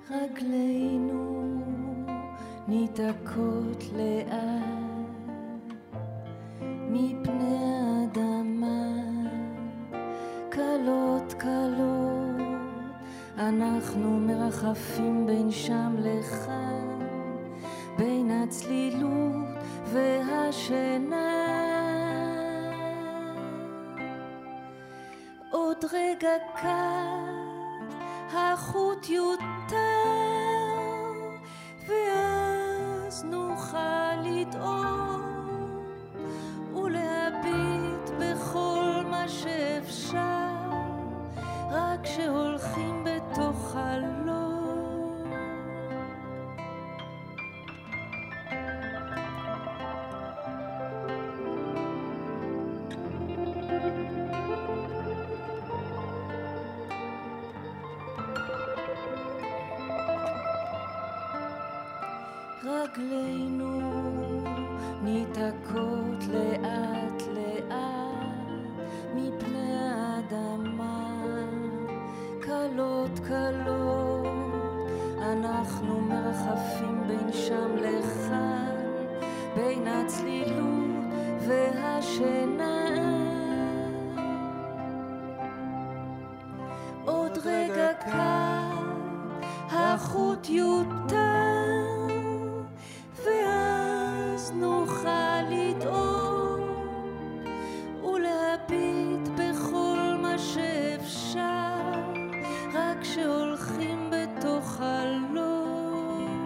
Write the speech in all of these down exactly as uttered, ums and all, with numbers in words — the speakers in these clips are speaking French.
רגלינו ניתקות לאט מפני האדמה, קלות קלות אנחנו מרחפים בין שם לכאן, בין הצלילות והשינה. עוד רגע קט החוט יותר, ואז נוכל לטעום ולהביט בכל מה שאפשר, רק שהולכים בתוך חלום. רגלינו ניתקות לאט לאט מפני האדמה, קלות קלות אנחנו מרחפים בין שם לכאן, בין הצלילות והשינה. עוד רגע קט החוט יותר, ואז נוכל לטעום ולהביט בכל מה שאפשר, רק שהולכים בתוך חלום.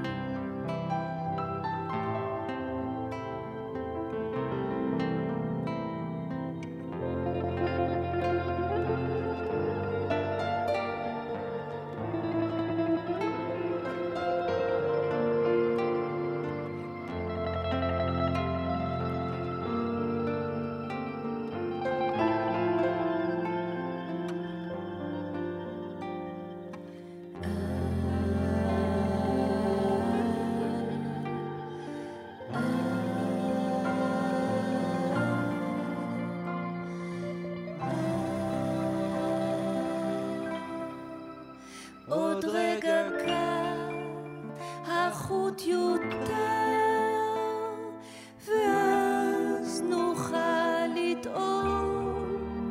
עוד רגע קט החוט יותר, ואז נוכל לטעום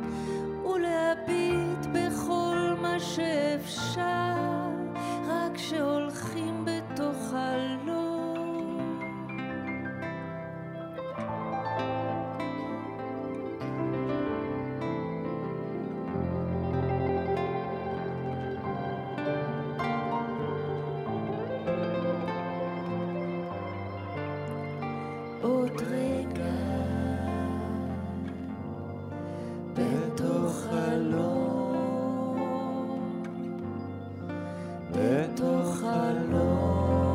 ולהביט בכל מה שאפשר, רק שהולכים בתוך חלום. עוד רגע בתוך חלום, בתוך חלום.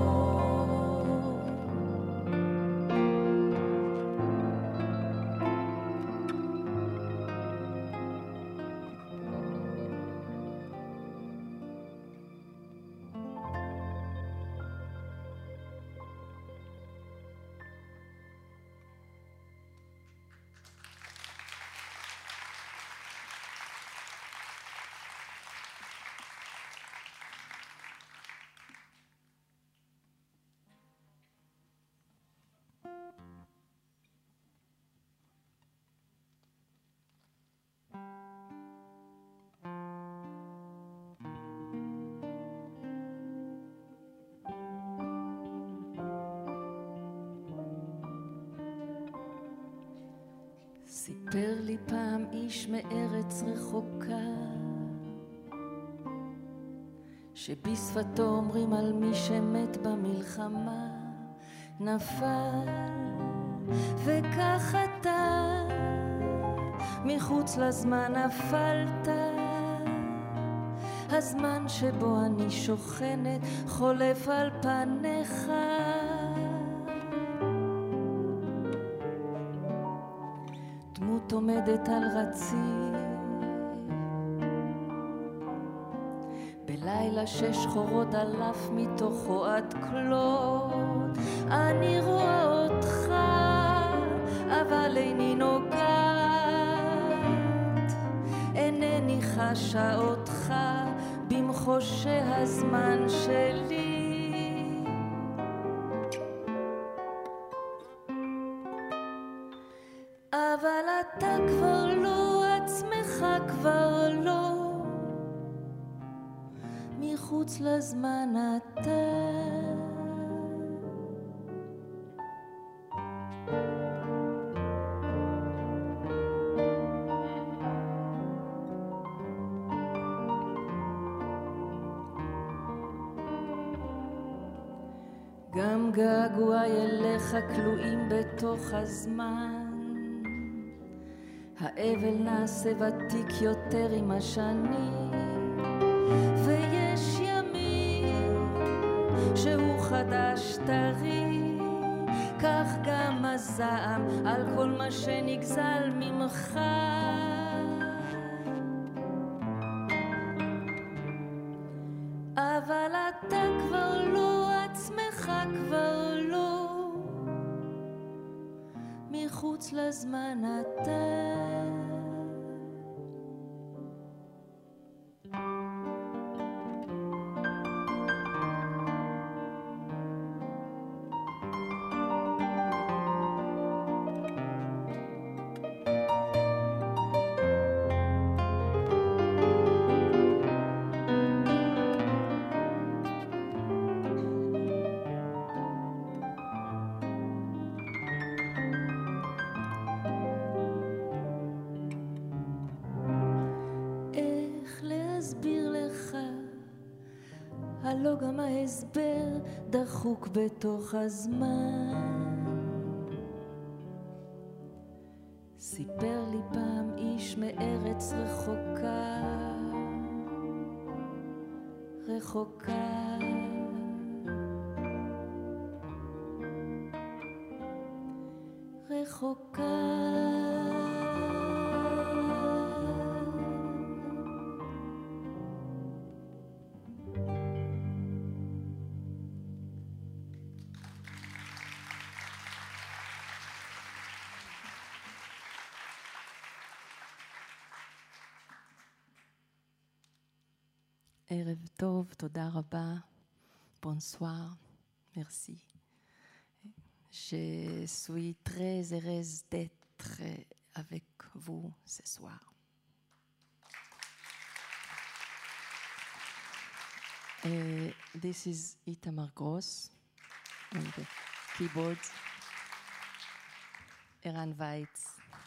סיפר לי פעם איש מארץ רחוקה, שבשפתו אומרים על מי שמת במלחמה נפל, וכך אתה מחוץ לזמן נפלת, הזמן שבו אני שוכנת חולף על פניך. דמות עומדת על רציף בלילה שש חורות אלף מתוכו עד כלות, אני רואה אותך אבל איני נוגעת, אינני חשה אותך במחותה חושי הזמן שלי. אבל אתה כבר לא, עצמך כבר לא, מחוץ לזמן אתה. גם געגועי אליך כלואים בתוך הזמן, האבל נעשה ותיק יותר עם השנים, ויש ימים שהוא חדש טרי, כך גם הזעם על כל מה שנגזל ממך. אבל אתה כבר לא, עצמך כבר לא, מחוץ לזמן אתה. הלא גם ההסבר דחוק בתוך הזמן. סיפר לי פעם איש מארץ רחוקה, רחוקה, רחוקה. ערב טוב, תודה רבה. Bonsoir, merci. Je suis très heureuse d'être avec vous ce soir. Uh, this is Itamar Gross on the keyboard, Eran Weitz.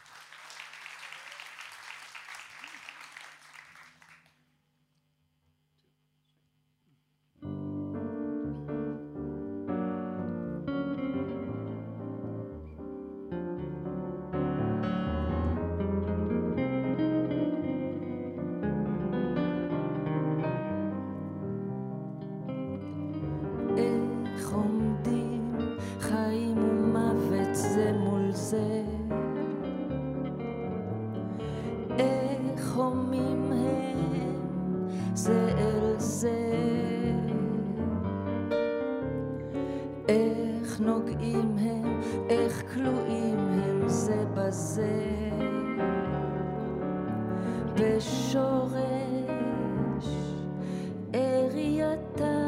איך נוגעים הם, איך כלואים הם זה בזה, בשורש ערייתה.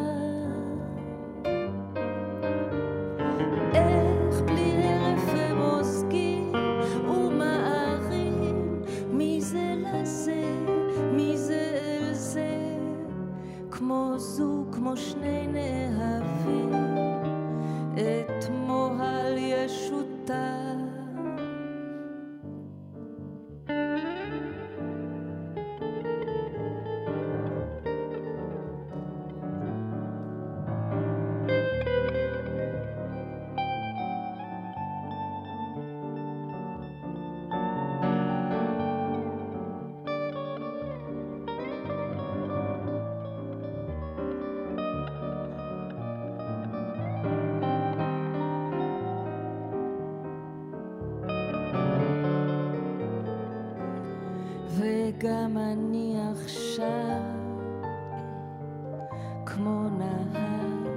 איך בלי הרף הם עוסקים ומערים מזה לזה, מזה אל זה, כמו זוג, כמו שני נאהבים, את מוהל ישותה. וגם אני עכשיו כמו נהר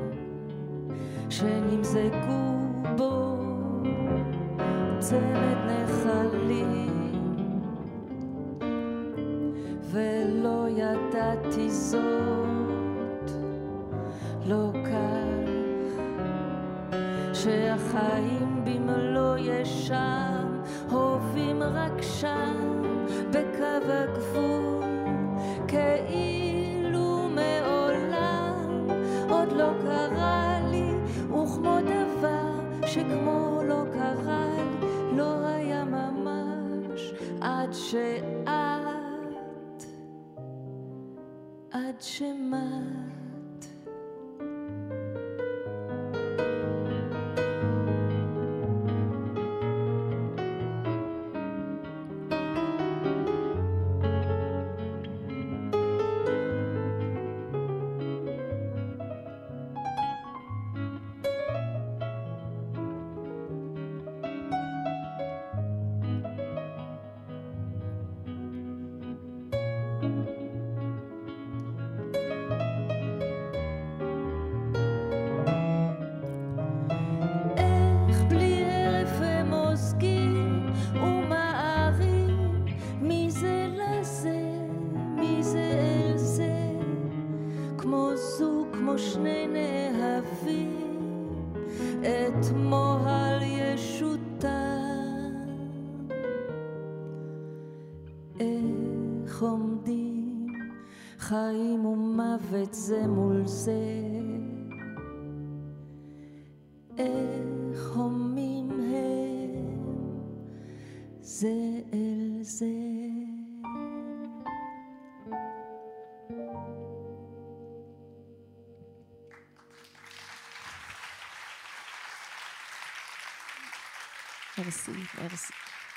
שנמזגו בו צמד נחלים, ולא ידעתי זאת שהחיים במלוא ישם הובים רק שם בקו הגבול, כאילו מעולם עוד לא קרה לי, וכמו דבר שכמו לא קרה לי לא היה ממש, עד שאת עד שמת. חיים ומוות זה מול זה, איך הומים הם זה אל זה. Merci, merci.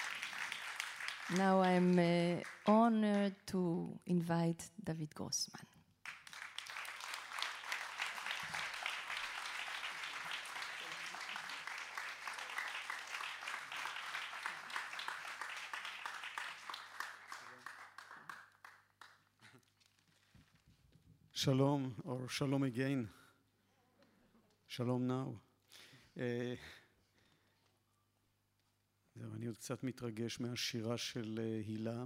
Now I'm uh, honored to invite David Grossman. Shalom, or shalom again. Shalom now. Uh, זהו, אני עוד קצת מתרגש מהשירה של הילה.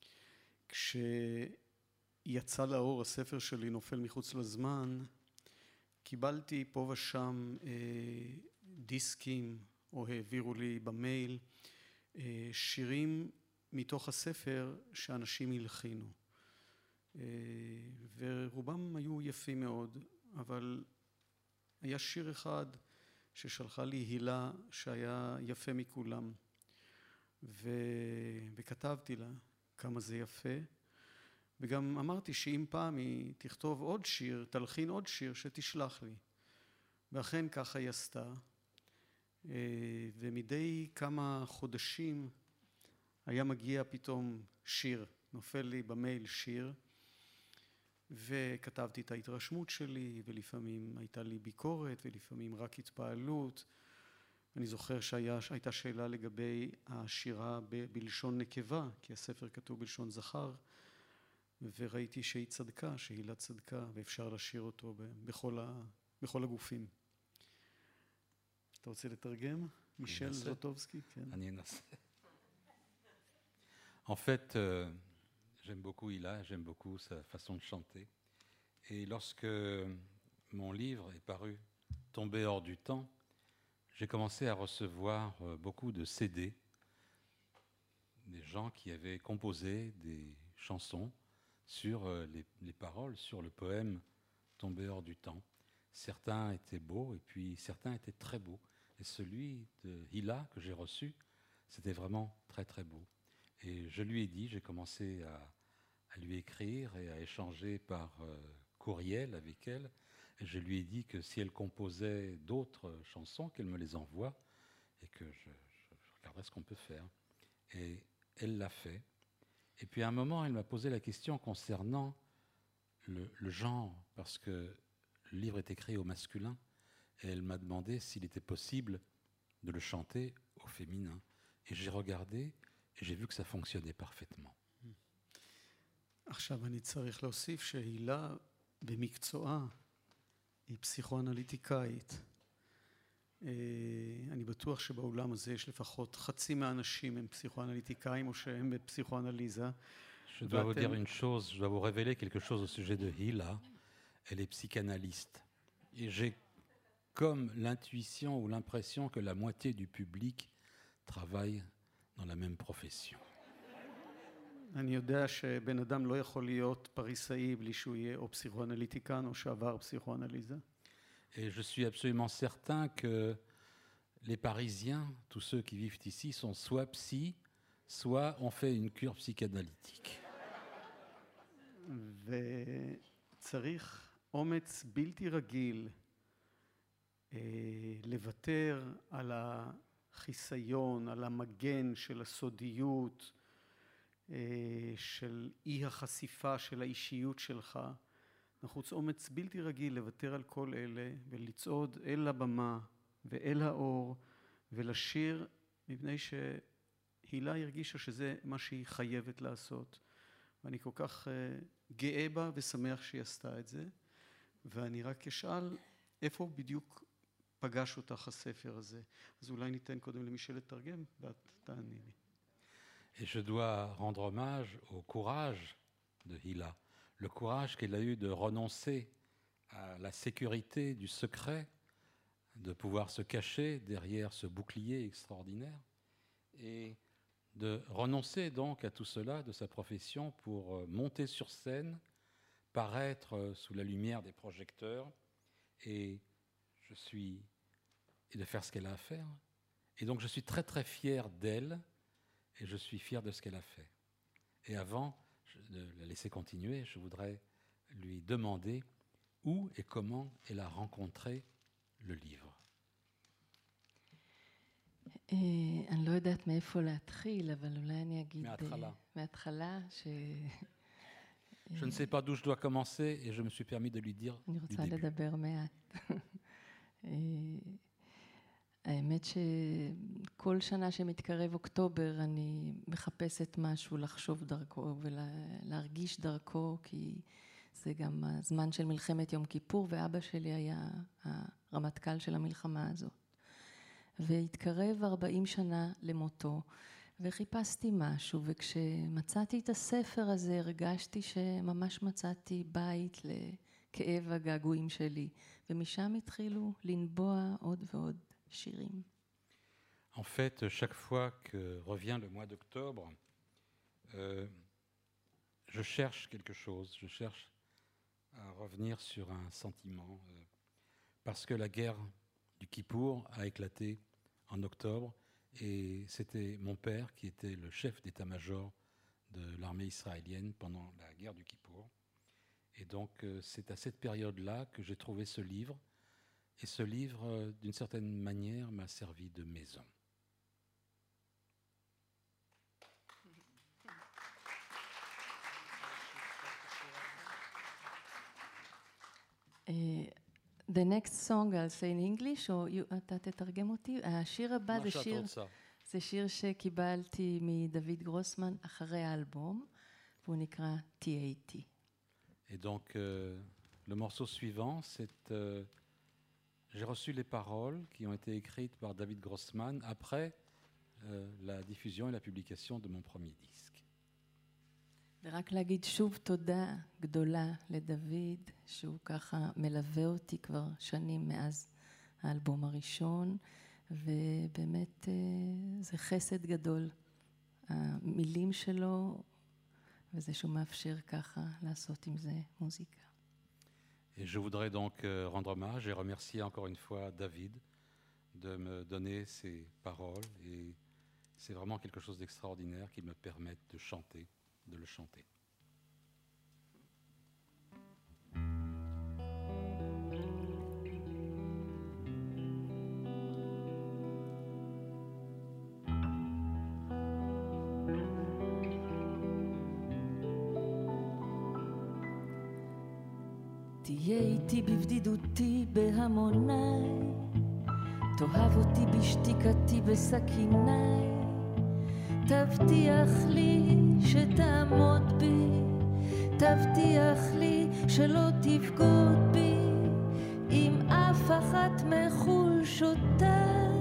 כשיצא לאור הספר שלי נופל מחוץ לזמן, קיבלתי פה ושם אה, דיסקים, או העבירו לי במייל, אה, שירים מתוך הספר שאנשים הלחינו. אה, ורובם היו יפים מאוד, אבל היה שיר אחד ששלחה לי הילה שהיה יפה מכולם. ו... וכתבתי לה כמה זה יפה, וגם אמרתי שאם פעם היא תכתוב עוד שיר, תלחין עוד שיר, שתשלח לי. ואכן ככה היא עשתה, ומדי כמה חודשים היה מגיע פתאום שיר, נופל לי במייל שיר, וכתבתי את ההתרשמות שלי, ולפעמים הייתה לי ביקורת, ולפעמים רק התפעלות. אני זוכר שהייתה שאלה לגבי השירה ב- בלשון נקבה, כי הספר כתוב בלשון זכר, וראיתי שהיא צדקה, שהילה צדקה, ואפשר לשיר אותו ב- בכל, ה- בכל הגופים. אתה רוצה לתרגם? מישל זוטובסקי? כן. אני אנסה. En fait, euh, j'aime beaucoup Hila, j'aime beaucoup sa façon de chanter. Et lorsque mon livre est paru, Tombé hors du temps, j'ai commencé à recevoir beaucoup de C D, des gens qui avaient composé des chansons sur les, les paroles, sur le poème Tombé hors du temps. Certains étaient beaux et puis certains étaient très beaux. Et celui de Hila que j'ai reçu, c'était vraiment très très beau. Et je lui ai dit, j'ai commencé à, à lui écrire et à échanger par euh, courriel avec elle. Et je lui ai dit que si elle composait d'autres chansons, qu'elle me les envoie et que je, je, je regarderais ce qu'on peut faire. Et elle l'a fait. Et puis à un moment, elle m'a posé la question concernant le, le genre, parce que le livre est écrit au masculin. Et elle m'a demandé s'il était possible de le chanter au féminin. Et j'ai regardé et j'ai vu que ça fonctionnait parfaitement. עכשיו אני צריך להוסיף שהילה במקצועה היא פסיכואנליטיקאית. אני בטוח שבאולם הזה יש לפחות חצי מהאנשים הם פסיכואנליטיקאים או שהם בפסיכואנליזה. Je dois vous dire une chose, je dois vous révéler quelque chose au sujet de Hila. Elle est psychanalyste. Et j'ai comme l'intuition ou l'impression que la moitié du public travaille dans la même profession. אני יודע שבן אדם לא יכול להיות פריסאי בלי שהוא יהיה או פסיכואנליטיקן או שעבר פסיכואנליזה. Et je suis absolument certain que les Parisiens, tous ceux qui vivent ici, sont soit psy, soit ont fait une cure psychanalytique. וצריך אומץ בלתי רגיל לוותר על החיסיון, על המגן של הסודיות, של אי החשיפה של האישיות שלך. נחוץ אומץ בלתי רגיל לוותר על כל אלה ולצעוד אל הבמה ואל האור ולשיר, מפני שהילה הרגישה שזה מה שהיא חייבת לעשות. ואני כל כך גאה בה ושמח שהיא עשתה את זה. ואני רק אשאל איפה בדיוק פגש אותך הספר הזה. אז אולי ניתן קודם למישל לתרגם ואת תעני לי. Et je dois rendre hommage au courage de Hila, le courage qu'elle a eu de renoncer à la sécurité du secret, de pouvoir se cacher derrière ce bouclier extraordinaire et de renoncer donc à tout cela de sa profession pour monter sur scène, paraître sous la lumière des projecteurs et, je suis, et de faire ce qu'elle a à faire. Et donc je suis très très fier d'elle. Et je suis fier de ce qu'elle a fait. Et avant de la laisser continuer, je voudrais lui demander où et comment elle a rencontré le livre. אני לא יודעת מאיפה להתחיל, אבל אולי אני אגיד... מההתחלה. מההתחלה, ש... Je ne sais pas d'où je dois commencer et je me suis permis de lui dire du début. אני רוצה לדבר מעט. האמת שכל שנה שמתקרב אוקטובר אני מחפשת משהו לחשוב דרכו ולהרגיש דרכו, כי זה גם הזמן של מלחמת יום כיפור, ואבא שלי היה הרמטכ"ל של המלחמה הזאת. והתקרב ארבעים שנה למותו, וחיפשתי משהו, וכשמצאתי את הספר הזה הרגשתי שממש מצאתי בית לכאב הגעגועים שלי, ומשם התחילו לנבוע עוד ועוד. En fait, chaque fois que revient le mois d'octobre, euh, je cherche quelque chose, je cherche à revenir sur un sentiment, euh, parce que la guerre du Kippour a éclaté en octobre, et c'était mon père qui était le chef d'état-major de l'armée israélienne pendant la guerre du Kippour. Et donc, euh, c'est à cette période-là que j'ai trouvé ce livre. Et ce livre, d'une certaine manière, m'a servi de maison. Uh, the next song I'll say in English, או אתה תתרגם אותי. השיר הבא זה שיר, זה שיר שקיבלתי מדוד גרוסמן אחרי האלבום, והוא נקרא T A T. Et donc, euh, le morceau suivant, c'est... Euh, J'ai reçu les paroles qui ont été écrites par David Grossman après euh, la diffusion et la publication de mon premier disque. ורק להגיד שוב תודה גדולה לדוד, שהוא ככה מלווה אותי כבר שנים מאז האלבום הראשון, ובאמת זה חסד גדול, המילים שלו, וזה שהוא מאפשר ככה לעשות עם זה מוזיקה. Et je voudrais donc rendre hommage et remercier encore une fois David de me donner ces paroles. Et c'est vraiment quelque chose d'extraordinaire qui me permette de chanter, de le chanter. תהיה איתי בבדידותי בהמוניי, תאהב אותי בשתיקתי בסכיניי, תבטיח לי שתעמוד בי, תבטיח לי שלא תבגוד בי עם אף אחת מחולשותיי.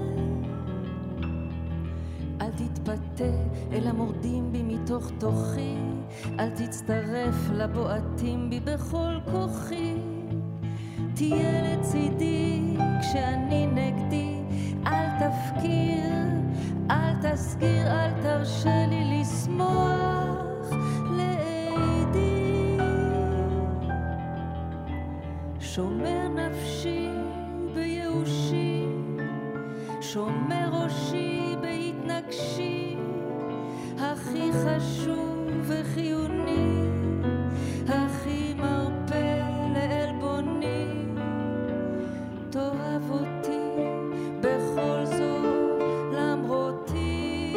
אל תתפתה אל המורדים בי מתוך תוכי, אל תצטרף לבועטים בי בכל כוחי, תהיה לצידי כשאני נגדי, אל תפקיר, אל תסגיר, אל תרשה לי לשמוח לעדי. שומר נפשי בייאושי, שומר ראשי בהתנגשי, הכי חשוב וחיוני, הכי מרפא לעלבוני, תאהב אותי בכל זאת למרותי.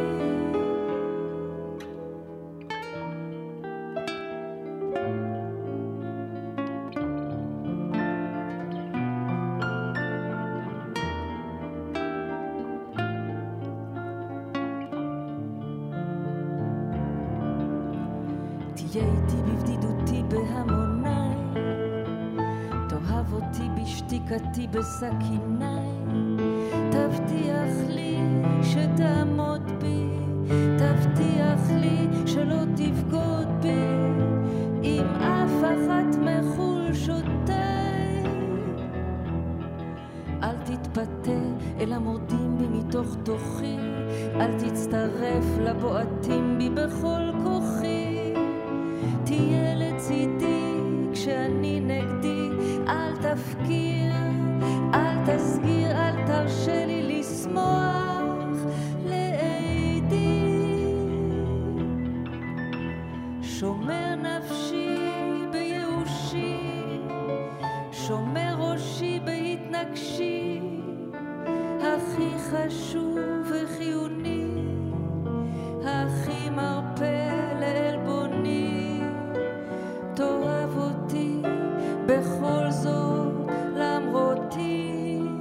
תהיה איתי בבדידותי בהמוניי, תאהב אותי בשתיקתי בסכיניי, תבטיח לי שתעמוד בי, תבטיח לי שלא תבגוד בי עם אף אחת מחולשותיי. אל תתפתה אל המורדים בי מתוך תוכי, אל תצטרף לבועטים בי בכל כוחי. תהיה לצידי כשאני נגדי, אל תפקיר, אל תסגיר, אל תרשה לי לשמוח לעדי. שומר נפשי בייאושי, שומר ראשי בהתנגשי, הכי חשוב וחיוני, הכי מרפא לעלבוני, תאהב אותי בכל זאת למרותי.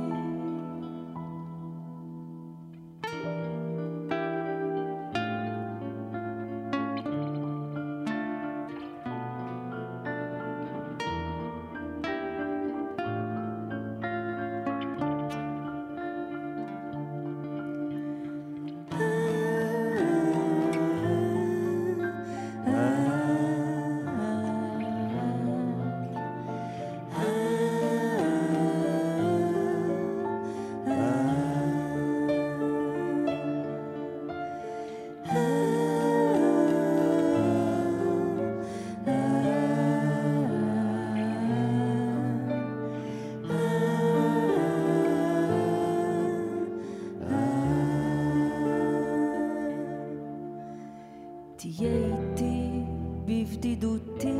תהיה איתי בבדידותי,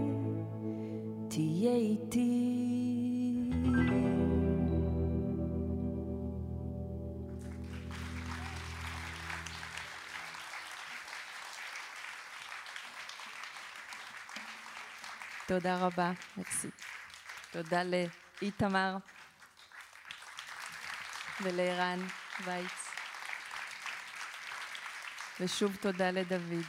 תהיה איתי. תודה רבה, מרסי. תודה לאיתמר ולערן וייץ. ושוב תודה לדוד.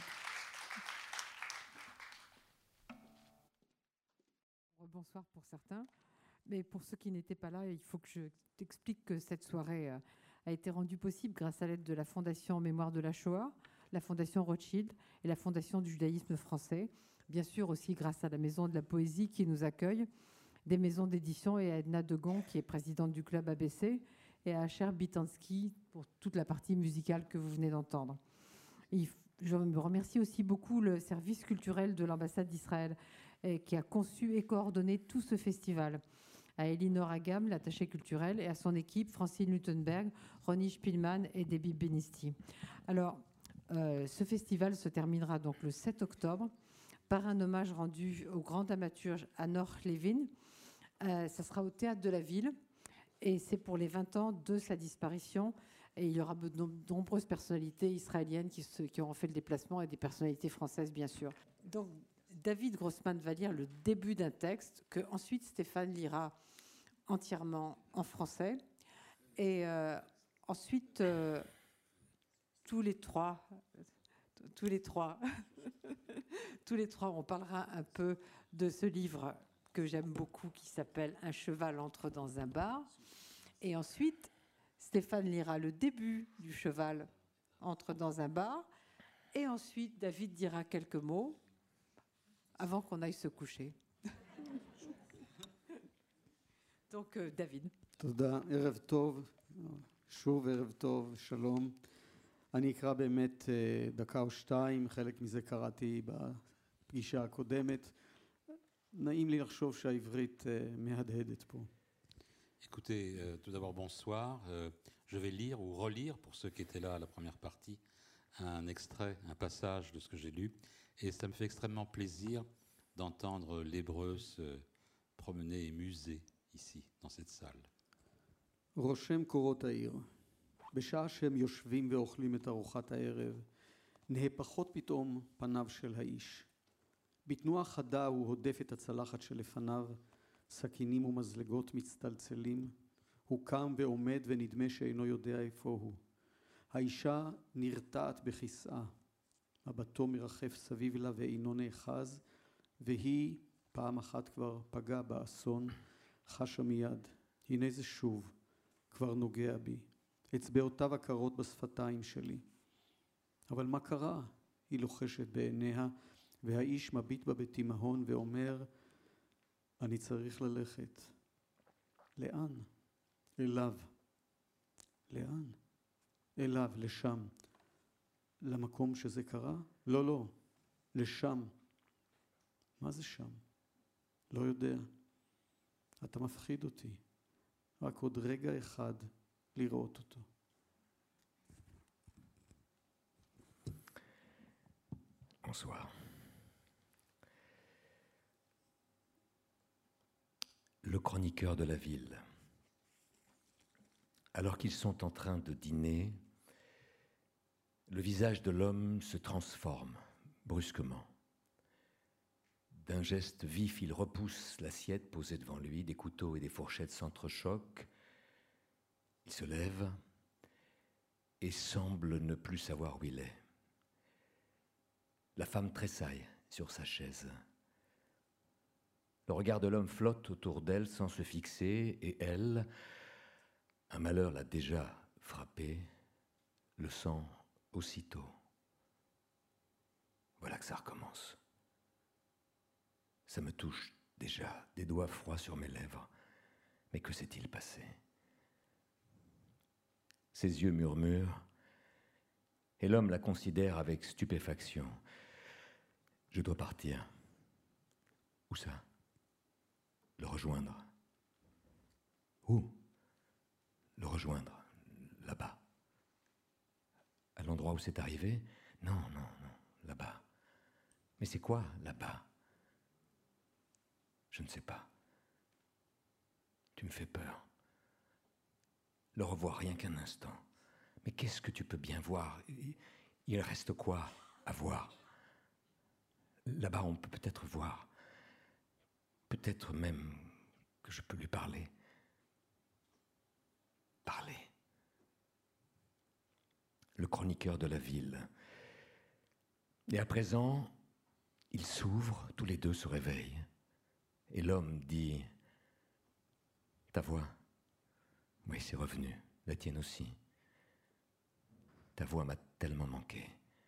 Bonsoir pour certains, mais pour ceux qui n'étaient pas là, il faut que je t'explique que cette soirée a été rendue possible grâce à l'aide de la Fondation en mémoire de la Shoah, la Fondation Rothschild et la Fondation du judaïsme français. Bien sûr aussi grâce à la Maison de la Poésie qui nous accueille, des maisons d'édition et à Edna Degon qui est présidente du club A B C et à Asher Bitansky pour toute la partie musicale que vous venez d'entendre. Et je me remercie aussi beaucoup le service culturel de l'ambassade d'Israël qui a conçu et coordonné tout ce festival. À Elinor Agam, l'attachée culturelle, et à son équipe, Francine Lutenberg, Ronnie Spielmann et Debbie Benisti. Alors, euh, ce festival se terminera donc le sept octobre par un hommage rendu au grand dramaturge Anor Levin. Euh, ça sera au Théâtre de la Ville et c'est pour les vingt ans de sa disparition. Et il y aura de nombreuses personnalités israéliennes qui, se, qui auront fait le déplacement et des personnalités françaises, bien sûr. Donc, David Grossman va lire le début d'un texte que ensuite Stéphane lira entièrement en français. Et euh, ensuite, euh, tous les trois, tous les trois, tous les trois, on parlera un peu de ce livre que j'aime beaucoup qui s'appelle « Un cheval entre dans un bar ». Et ensuite, Stéphane lira le début du cheval entre dans un bar. Et ensuite, David dira quelques mots avant qu'on aille se coucher. Donc, euh, David. תודה, ערב טוב, שוב ערב טוב, שלום. אני אקרא באמת דקה או שתיים, חלק מזה קראתי בפגישה הקודמת. נעים לי לחשוב שהעברית מהדהדת פה. Écoutez, euh, tout d'abord bonsoir. Euh, je vais lire ou relire, pour ceux qui étaient là à la première partie, un extrait, un passage de ce que j'ai lu. Et ça me fait extrêmement plaisir d'entendre l'hébreu se promener et muser ici, dans cette salle. רושם קורות העיר. בשעה שהם יושבים ואוכלים את ארוחת הערב, נהפכות פתאום פניו של האיש. בתנועה חדה הוא הודף את הצלחת שלפניו, סכינים ומזלגות מצטלצלים. הוא קם ועומד ונדמה שאינו יודע איפה הוא. האישה נרתעת בכיסאה. מבטו מרחף סביב לה ואינו נאחז, והיא פעם אחת כבר פגעה באסון, חשה מיד. הנה זה שוב, כבר נוגע בי. אצבעותיו הקרות בשפתיים שלי. אבל מה קרה? היא לוחשת בעיניה, והאיש מביט בה בתימהון ואומר, אני צריך ללכת. לאן? אליו. לאן? אליו, לשם. למקום שזה קרה? לא, לא. לשם. מה זה שם? לא יודע. אתה מפחיד אותי. רק עוד רגע אחד לראות אותו. Bonsoir. Le chroniqueur de la ville. Alors qu'ils sont en train de dîner, le visage de l'homme se transforme brusquement. D'un geste vif, il repousse l'assiette posée devant lui, des couteaux et des fourchettes s'entrechoquent. Il se lève et semble ne plus savoir où il est. La femme tressaille sur sa chaise. Le regard de l'homme flotte autour d'elle sans se fixer, et elle, un malheur l'a déjà frappée, le sent aussitôt. Voilà que ça recommence. Ça me touche déjà, des doigts froids sur mes lèvres. Mais que s'est-il passé? Ses yeux murmurent, et l'homme la considère avec stupéfaction. Je dois partir. Où ça? Le rejoindre. Où? Le rejoindre, là-bas. À l'endroit où c'est arrivé? Non, non, non, là-bas. Mais c'est quoi, là-bas? Je ne sais pas. Tu me fais peur. Le revoir rien qu'un instant. Mais qu'est-ce que tu peux bien voir? Il reste quoi à voir? Là-bas, on peut peut-être voir. Peut-être même que je peux lui parler. Parler. Le chroniqueur de la ville. Et à présent, ils s'ouvrent, tous les deux se réveillent. Et l'homme dit, « Ta voix, oui, c'est revenu, la tienne aussi. Ta voix m'a tellement manqué.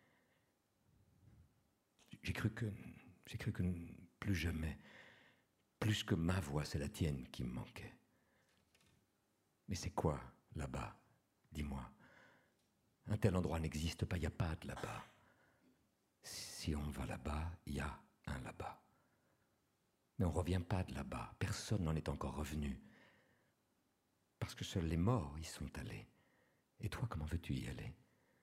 J'ai cru que, j'ai cru que plus jamais, plus que ma voix, c'est la tienne qui me manquait. Mais c'est quoi là-bas? Dis-moi. Un tel endroit n'existe pas, il n'y a pas de là-bas. Si on va là-bas, il y a un là-bas. Mais on ne revient pas de là-bas. Personne n'en est encore revenu. Parce que seuls les morts y sont allés. Et toi, comment veux-tu y aller?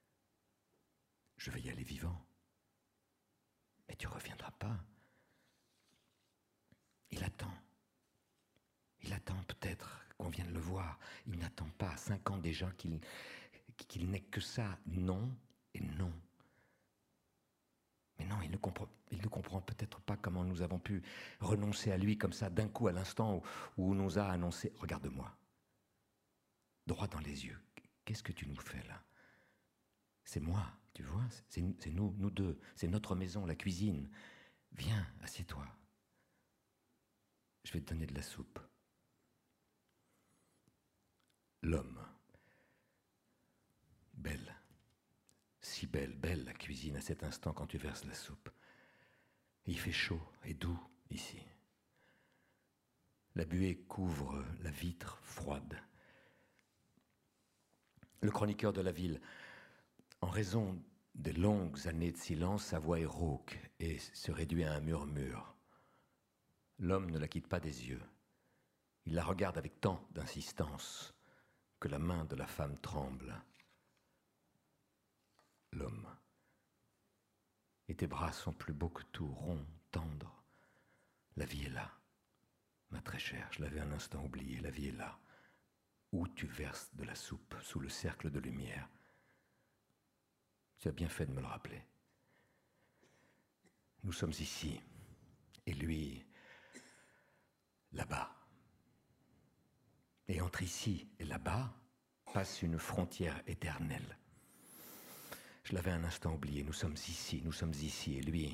Je vais y aller vivant. Mais tu ne reviendras pas. Il attend. Il attend peut-être qu'on vienne le voir. Il n'attend pas, cinq ans déjà, qu'il, qu'il n'ait que ça. Non et non. Mais non, il ne comprend, il ne comprend peut-être pas comment nous avons pu renoncer à lui comme ça, d'un coup, à l'instant où, où on nous a annoncé. Regarde-moi, droit dans les yeux. Qu'est-ce que tu nous fais là? C'est moi, tu vois, c'est, c'est nous, nous deux. C'est notre maison, la cuisine. Viens, assieds-toi. Je vais te donner de la soupe. L'homme. Belle. Si belle, belle la cuisine à cet instant quand tu verses la soupe. Et il fait chaud et doux ici. La buée couvre la vitre froide. Le chroniqueur de la ville, en raison des longues années de silence, sa voix est rauque et se réduit à un murmure. L'homme ne la quitte pas des yeux. Il la regarde avec tant d'insistance que la main de la femme tremble. L'homme. Et tes bras sont plus beaux que tout, ronds, tendres. La vie est là, ma très chère, je l'avais un instant oublié, la vie est là, où tu verses de la soupe sous le cercle de lumière. Tu as bien fait de me le rappeler. Nous sommes ici, et lui, là-bas. Et entre ici et là-bas passe une frontière éternelle. Je l'avais un instant oublié, nous sommes ici, nous sommes ici, et lui...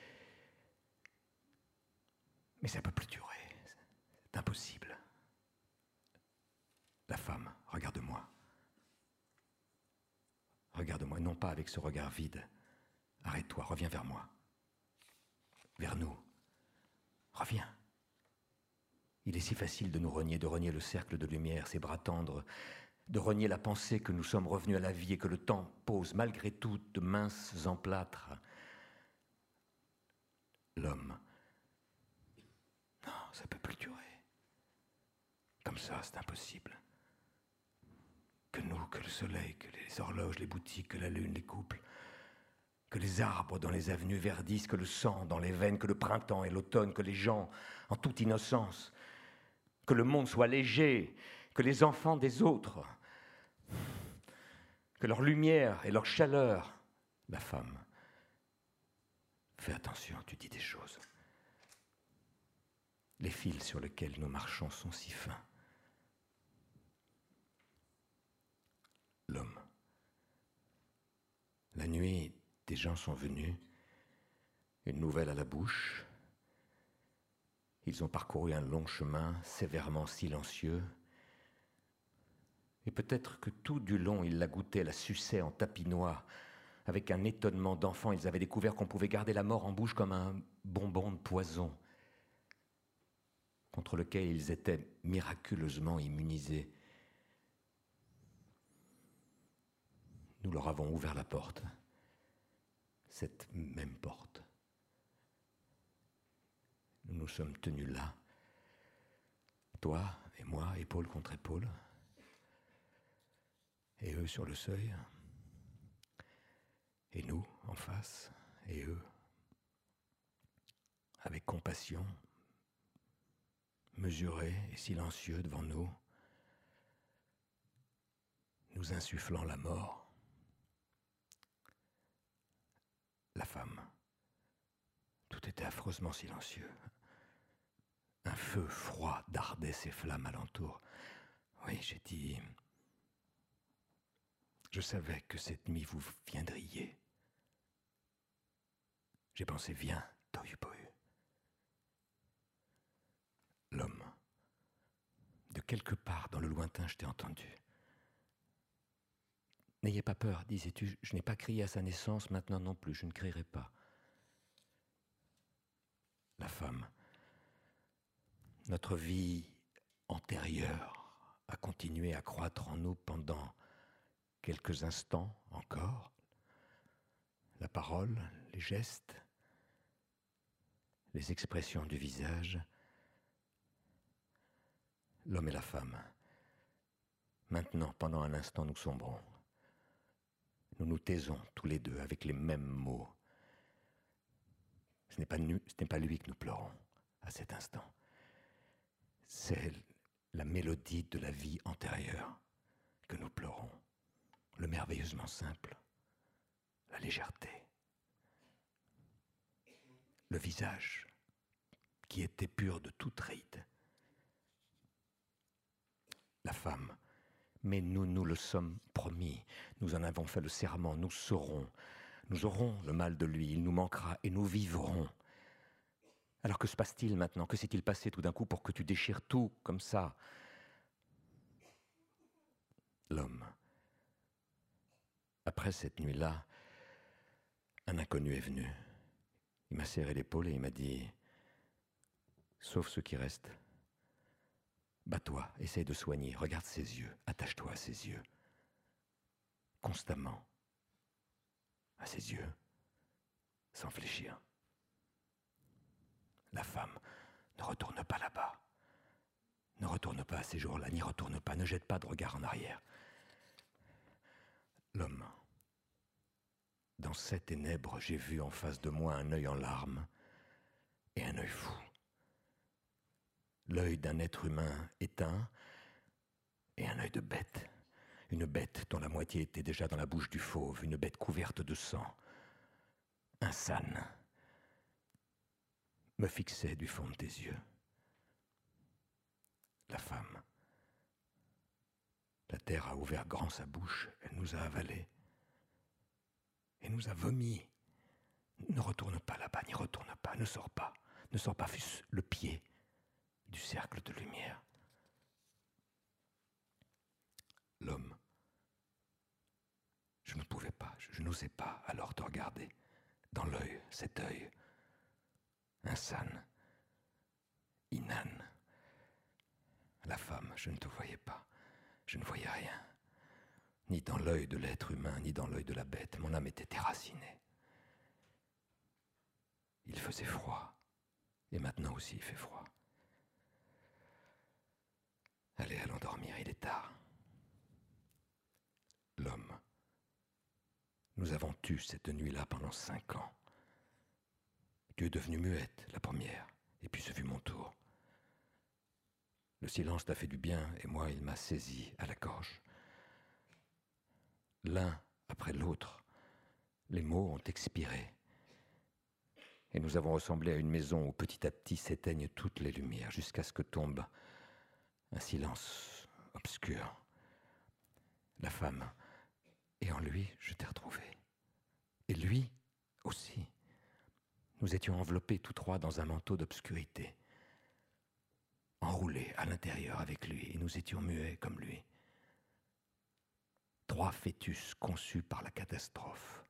Mais ça ne peut plus durer, c'est impossible. La femme, regarde-moi. Regarde-moi, non pas avec ce regard vide. Arrête-toi, reviens vers moi. Vers nous. Reviens. Il est si facile de nous renier, de renier le cercle de lumière, ses bras tendres, de renier la pensée que nous sommes revenus à la vie et que le temps pose malgré tout de minces emplâtres. L'homme. Non, ça ne peut plus durer. Comme ça, c'est impossible. Que nous, que le soleil, que les horloges, les boutiques, que la lune, les couples, que les arbres dans les avenues verdissent, que le sang dans les veines, que le printemps et l'automne, que les gens, en toute innocence, que le monde soit léger, que les enfants des autres, que leur lumière et leur chaleur, la femme, fais attention, tu dis des choses. Les fils sur lesquels nous marchons sont si fins. L'homme. La nuit, des gens sont venus, une nouvelle à la bouche. Ils ont parcouru un long chemin, sévèrement silencieux. Et peut-être que tout du long, ils la goûtaient, la suçaient en tapinois. Avec un étonnement d'enfant, ils avaient découvert qu'on pouvait garder la mort en bouche comme un bonbon de poison, contre lequel ils étaient miraculeusement immunisés. Nous leur avons ouvert la porte, cette même porte. Nous nous sommes tenus là, toi et moi, épaule contre épaule, et eux sur le seuil, et nous en face, et eux, avec compassion, mesurés et silencieux devant nous, nous insufflant la mort. La femme. Tout était affreusement silencieux. Un feu froid dardait ses flammes alentour. Oui, j'ai dit... Je savais que cette nuit vous viendriez. J'ai pensé, viens, Tohu-Pohu. L'homme. De quelque part dans le lointain, je t'ai entendu. N'ayez pas peur, disais-tu, je n'ai pas crié à sa naissance, maintenant non plus, je ne crierai pas. La femme. Notre vie antérieure a continué à croître en nous pendant quelques instants encore. La parole, les gestes, les expressions du visage. L'homme et la femme. Maintenant, pendant un instant, nous sombrons. Nous nous taisons tous les deux avec les mêmes mots. Ce n'est pas, nu, ce n'est pas lui que nous pleurons à cet instant. C'est la mélodie de la vie antérieure que nous pleurons. Le merveilleusement simple, la légèreté. Le visage qui était pur de toute ride. La femme. Mais nous nous le sommes promis, nous en avons fait le serment, nous saurons, nous aurons le mal de lui, il nous manquera et nous vivrons. Alors que se passe-t-il maintenant? Que s'est-il passé tout d'un coup pour que tu déchires tout comme ça? L'homme. Après cette nuit-là, un inconnu est venu. Il m'a serré l'épaule et il m'a dit « Sauve ceux qui restent. Bats-toi, essaye de soigner, regarde ses yeux, attache-toi à ses yeux. Constamment. À ses yeux. Sans fléchir. La femme, ne retourne pas là-bas. Ne retourne pas à ces jours-là, n'y retourne pas, ne jette pas de regard en arrière. L'homme. Dans ces ténèbres, j'ai vu en face de moi un œil en larmes et un œil fou. L'œil d'un être humain éteint et un œil de bête. Une bête dont la moitié était déjà dans la bouche du fauve, une bête couverte de sang. Un sane me fixait du fond de tes yeux. La femme. La terre a ouvert grand sa bouche, elle nous a avalés. Et nous a vomi. Ne retourne pas là-bas, n'y retourne pas, ne sors pas. Ne sors pas, fût-ce le pied du cercle de lumière. L'homme. Je ne pouvais pas, je, je n'osais pas alors te regarder. Dans l'œil, cet œil. Insane. Inane. La femme, je ne te voyais pas. Je ne voyais rien. Ni dans l'œil de l'être humain, ni dans l'œil de la bête. Mon âme était déracinée. Il faisait froid. Et maintenant aussi il fait froid. Allez, allons dormir, il est tard. L'homme. Nous avons tu cette nuit-là pendant cinq ans. Tu es devenue muette, la première, et puis ce fut mon tour. Le silence t'a fait du bien, et moi, il m'a saisi à la gorge. L'un après l'autre, les mots ont expiré. Et nous avons ressemblé à une maison où petit à petit s'éteignent toutes les lumières, jusqu'à ce que tombe un silence obscur. La femme, et en lui, je t'ai retrouvé. Et lui aussi. Nous étions enveloppés tous trois dans un manteau d'obscurité, enroulés à l'intérieur avec lui, et nous étions muets comme lui. Trois fœtus conçus par la catastrophe.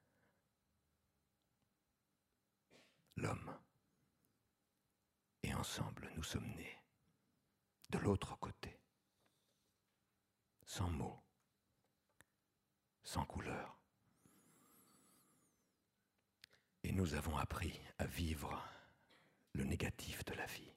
L'homme. Et ensemble, nous sommes nés. De l'autre côté. Sans mots. Sans couleur. Et nous avons appris à vivre le négatif de la vie.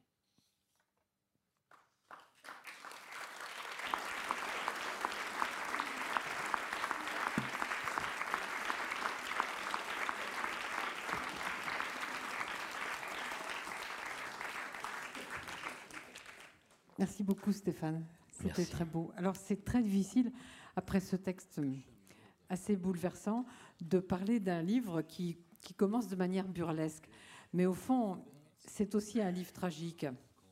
Merci beaucoup Stéphane, c'était Merci. très beau. Alors c'est très difficile, après ce texte assez bouleversant, de parler d'un livre qui, qui commence de manière burlesque. Mais au fond, c'est aussi un livre tragique.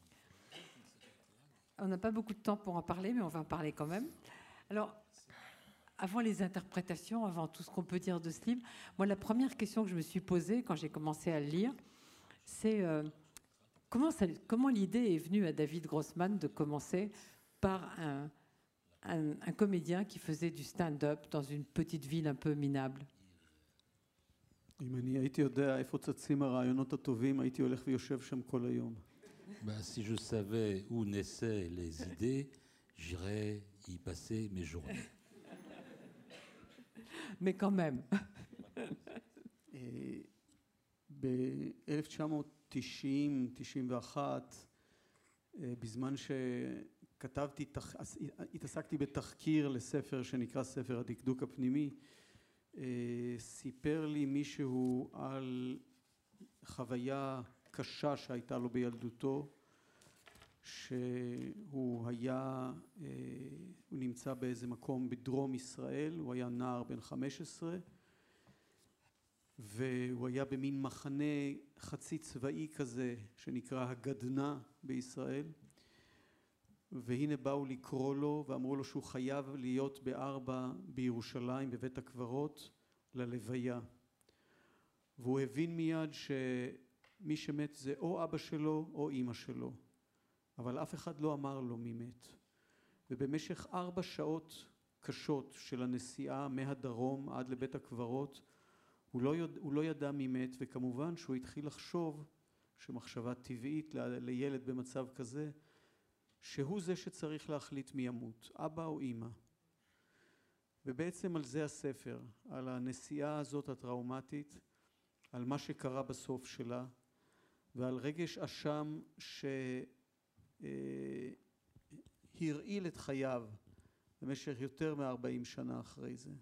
On n'a pas beaucoup de temps pour en parler, mais on va en parler quand même. Alors, avant les interprétations, avant tout ce qu'on peut dire de ce livre, moi la première question que je me suis posée quand j'ai commencé à le lire, c'est... Euh, Comment, ça, comment l'idée est venue à David Grossman de commencer par un, un, un comédien qui faisait du stand-up dans une petite ville un peu minable? אם אני הייתי יודע איפה צצים הרעיונות הטובים, הייתי הולך ויושב שם כל היום. Ben, si je savais où naissaient les idées, j'irais y passer mes journées. Mais quand même. ב-אלף תשע מאות תשעים תשעים ואחת, בזמן שכתבתי, התעסקתי בתחקיר לספר שנקרא ספר הדקדוק הפנימי, סיפר לי מישהו על חוויה קשה שהייתה לו בילדותו, שהוא היה, הוא נמצא באיזה מקום בדרום ישראל, הוא היה נער בן חמש עשרה, והוא היה במין מחנה חצי צבאי כזה שנקרא הגדנ"ע בישראל, והנה באו לקרוא לו ואמרו לו שהוא חייב להיות בארבע בירושלים בבית הקברות ללוויה, והוא הבין מיד שמי שמת זה או אבא שלו או אמא שלו, אבל אף אחד לא אמר לו מי מת. ובמשך ארבע שעות קשות של הנסיעה מהדרום עד לבית הקברות הוא לא, יודע, הוא לא ידע מי מת, וכמובן שהוא התחיל לחשוב שמחשבה טבעית ל, לילד במצב כזה, שהוא זה שצריך להחליט מי ימות, אבא או אמא. ובעצם על זה הספר, על הנסיעה הזאת הטראומטית, על מה שקרה בסוף שלה, ועל רגש אשם שהרעיל את חייו במשך יותר מ-ארבעים שנה אחרי זה.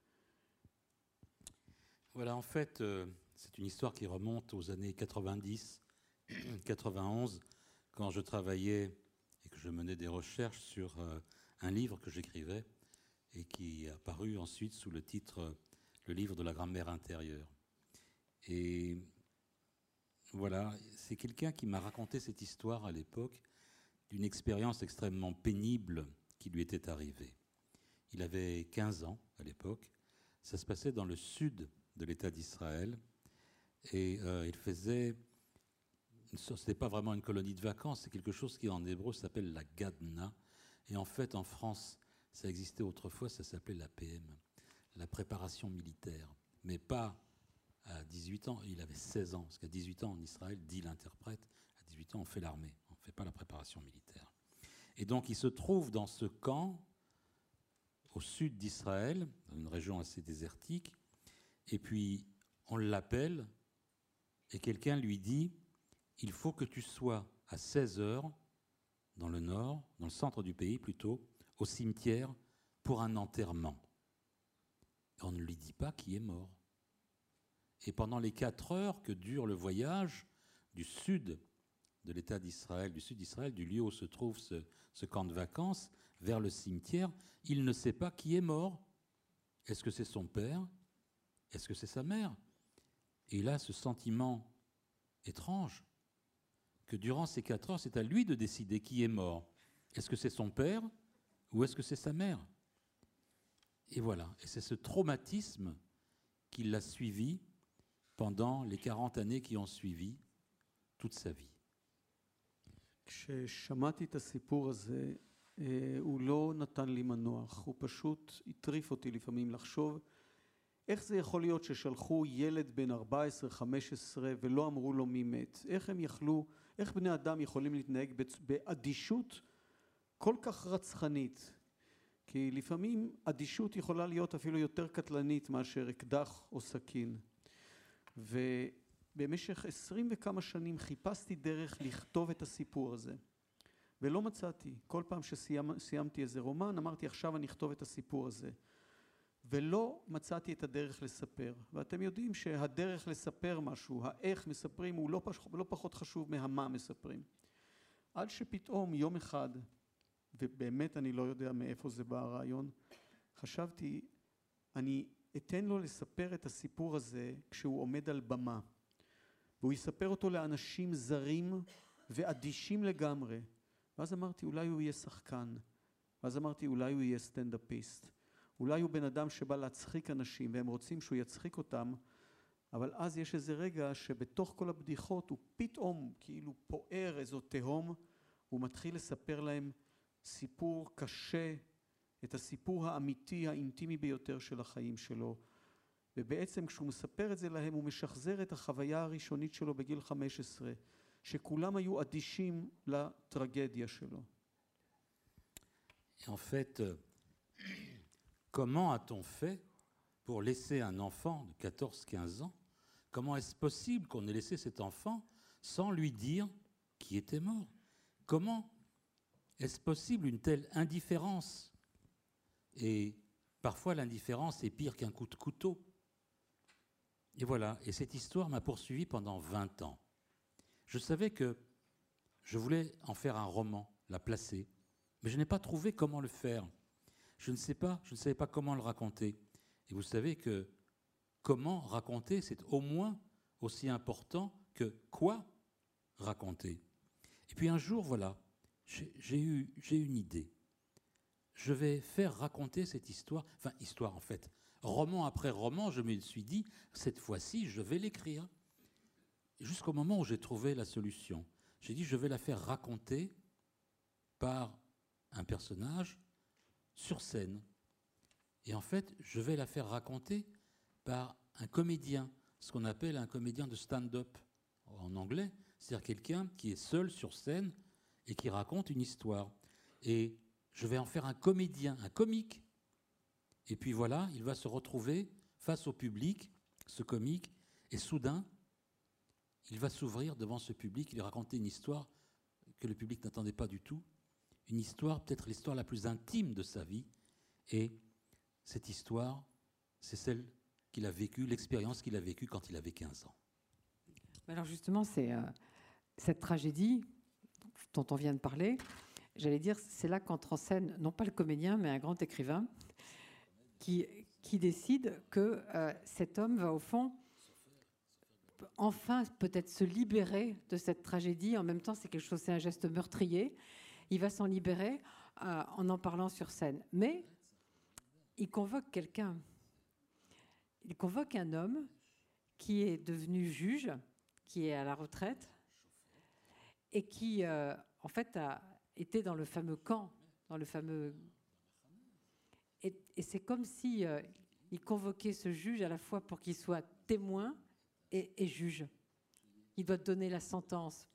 Voilà, en fait, euh, c'est une histoire qui remonte aux années quatre-vingt-dix, quatre-vingt-onze, quand je travaillais et que je menais des recherches sur euh, un livre que j'écrivais et qui est apparu ensuite sous le titre euh, « Le livre de la grammaire intérieure ». Et voilà, c'est quelqu'un qui m'a raconté cette histoire à l'époque d'une expérience extrêmement pénible qui lui était arrivée. Il avait quinze ans à l'époque, ça se passait dans le sud de l'État d'Israël et euh, il faisait, ce n'était pas vraiment une colonie de vacances, c'est quelque chose qui en hébreu s'appelle la Gadna et en fait en France ça existait autrefois, ça s'appelait la P M, la préparation militaire, mais pas à dix-huit ans, il avait seize ans, parce qu'à dix-huit ans en Israël, dit l'interprète, à dix-huit ans on fait l'armée, on ne fait pas la préparation militaire. Et donc il se trouve dans ce camp au sud d'Israël, dans une région assez désertique, et puis on l'appelle et quelqu'un lui dit « Il faut que tu sois à seize heures dans le nord, dans le centre du pays plutôt, au cimetière pour un enterrement. » Et on ne lui dit pas qui est mort. Et pendant les quatre heures que dure le voyage du sud de l'État d'Israël, du sud d'Israël, du lieu où se trouve ce, ce camp de vacances, vers le cimetière, il ne sait pas qui est mort. Est-ce que c'est son père ? Est-ce que c'est sa mère ? Et il a ce sentiment étrange que durant ces quatre heures, c'est à lui de décider qui est mort. Est-ce que c'est son père ou est-ce que c'est sa mère ? Et voilà, et c'est ce traumatisme qui l'a suivi pendant les quarante années qui ont suivi toute sa vie. כששמעתי את הסיפור הזה, הוא לא נתן לי מנוח, הוא פשוט הטריף אותי לפעמים לחשוב איך זה יכול להיות ששלחו ילד בן ארבע עשרה חמש עשרה ולא אמרו לו מי מת? איך הם יכלו, איך בני אדם יכולים להתנהג באדישות כל כך רצחנית? כי לפעמים אדישות יכולה להיות אפילו יותר קטלנית מאשר אקדח או סכין. ובמשך עשרים וכמה שנים חיפשתי דרך לכתוב את הסיפור הזה. ולא מצאתי. כל פעם שסיימתי איזה רומן, אמרתי עכשיו אני אכתוב את הסיפור הזה. ולא מצאתי את הדרך לספר. ואתם יודעים שהדרך לספר משהו, האיך מספרים, הוא לא, פש... לא פחות חשוב מהמה מספרים. עד שפתאום יום אחד, ובאמת אני לא יודע מאיפה זה בא הרעיון, חשבתי, אני אתן לו לספר את הסיפור הזה כשהוא עומד על במה. והוא יספר אותו לאנשים זרים ואדישים לגמרי. ואז אמרתי, אולי הוא יהיה שחקן. ואז אמרתי, אולי הוא יהיה סטנדאפיסט. אולי הוא בן אדם שבא להצחיק אנשים והם רוצים שהוא יצחיק אותם, אבל אז יש איזה רגע שבתוך כל הבדיחות הוא פתאום כאילו פוער איזו תהום, הוא מתחיל לספר להם סיפור קשה, את הסיפור האמיתי, האינטימי ביותר של החיים שלו. ובעצם כשהוא מספר את זה להם, הוא משחזר את החוויה הראשונית שלו בגיל חמש עשרה, שכולם היו אדישים לטרגדיה שלו. En fait, comment a-t-on fait pour laisser un enfant de quatorze quinze ans? Comment est-ce possible qu'on ait laissé cet enfant sans lui dire qui était mort? Comment est-ce possible une telle indifférence? Et parfois l'indifférence est pire qu'un coup de couteau. Et voilà, et cette histoire m'a poursuivi pendant vingt ans. Je savais que je voulais en faire un roman, la placer, mais je n'ai pas trouvé comment le faire. Je ne sais pas, je ne savais pas comment le raconter. Et vous savez que comment raconter, c'est au moins aussi important que quoi raconter. Et puis un jour, voilà, j'ai, j'ai eu, j'ai une idée. Je vais faire raconter cette histoire, enfin histoire en fait, roman après roman, je me suis dit, cette fois-ci, je vais l'écrire. Jusqu'au moment où j'ai trouvé la solution. J'ai dit, je vais la faire raconter par un personnage sur scène. Et en fait, je vais la faire raconter par un comédien, ce qu'on appelle un comédien de stand-up en anglais, c'est-à-dire quelqu'un qui est seul sur scène et qui raconte une histoire. Et je vais en faire un comédien, un comique. Et puis voilà, il va se retrouver face au public, ce comique, et soudain, il va s'ouvrir devant ce public, il va raconter une histoire que le public n'attendait pas du tout, une histoire, peut-être l'histoire la plus intime de sa vie, et cette histoire, c'est celle qu'il a vécue, l'expérience qu'il a vécue quand il avait quinze ans. Alors justement, c'est euh, cette tragédie dont on vient de parler, j'allais dire, c'est là qu'entre en scène, non pas le comédien, mais un grand écrivain, qui, qui décide que euh, cet homme va au fond enfin peut-être se libérer de cette tragédie. En même temps, c'est quelque chose, c'est un geste meurtrier. Il va s'en libérer euh, en en parlant sur scène. Mais il convoque quelqu'un. Il convoque un homme qui est devenu juge, qui est à la retraite, et qui, euh, en fait, a été dans le fameux camp, dans le fameux... Et, et c'est comme si euh, il convoquait ce juge à la fois pour qu'il soit témoin et, et juge. Il doit donner la sentence.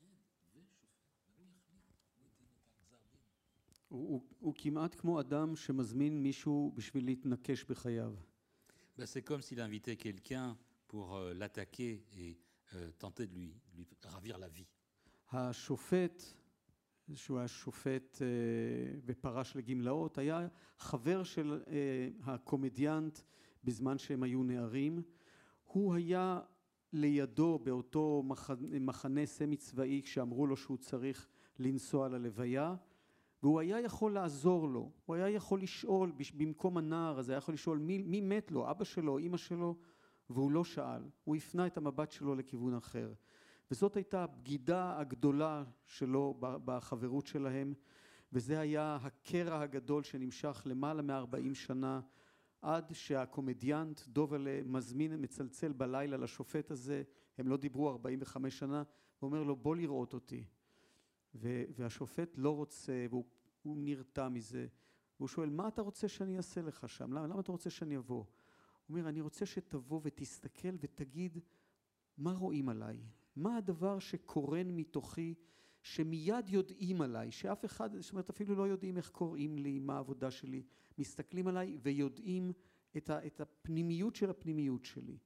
הוא, הוא כמעט כמו אדם שמזמין מישהו בשביל להתנקש בחייו. Ben, c'est comme s'il invitait quelqu'un pour euh, l'attaquer et euh, tenter de lui, lui ravir la vie. השופט, שהוא היה שופט אה, ופרש לגמלאות, היה חבר של אה, הקומדיאנט בזמן שהם היו נערים. הוא היה לידו באותו מחנה, מחנה סמי צבאי כשאמרו לו שהוא צריך לנסוע ללוויה, והוא היה יכול לעזור לו, הוא היה יכול לשאול במקום הנער הזה, היה יכול לשאול מי, מי מת לו, אבא שלו, אמא שלו, והוא לא שאל, הוא הפנה את המבט שלו לכיוון אחר. וזאת הייתה הבגידה הגדולה שלו בחברות שלהם, וזה היה הקרע הגדול שנמשך למעלה מ-ארבעים שנה, עד שהקומדיאנט דובלה מזמין, מצלצל בלילה לשופט הזה, הם לא דיברו ארבעים וחמש שנה, הוא אומר לו בוא לראות אותי. והשופט לא רוצה, והוא נרתע מזה, והוא שואל מה אתה רוצה שאני אעשה לך שם, למה, למה אתה רוצה שאני אבוא? הוא אומר אני רוצה שתבוא ותסתכל ותגיד מה רואים עליי, מה הדבר שקורן מתוכי שמיד יודעים עליי, שאף אחד, זאת אומרת אפילו לא יודעים איך קוראים לי, מה העבודה שלי, מסתכלים עליי ויודעים את, ה, את הפנימיות של הפנימיות שלי.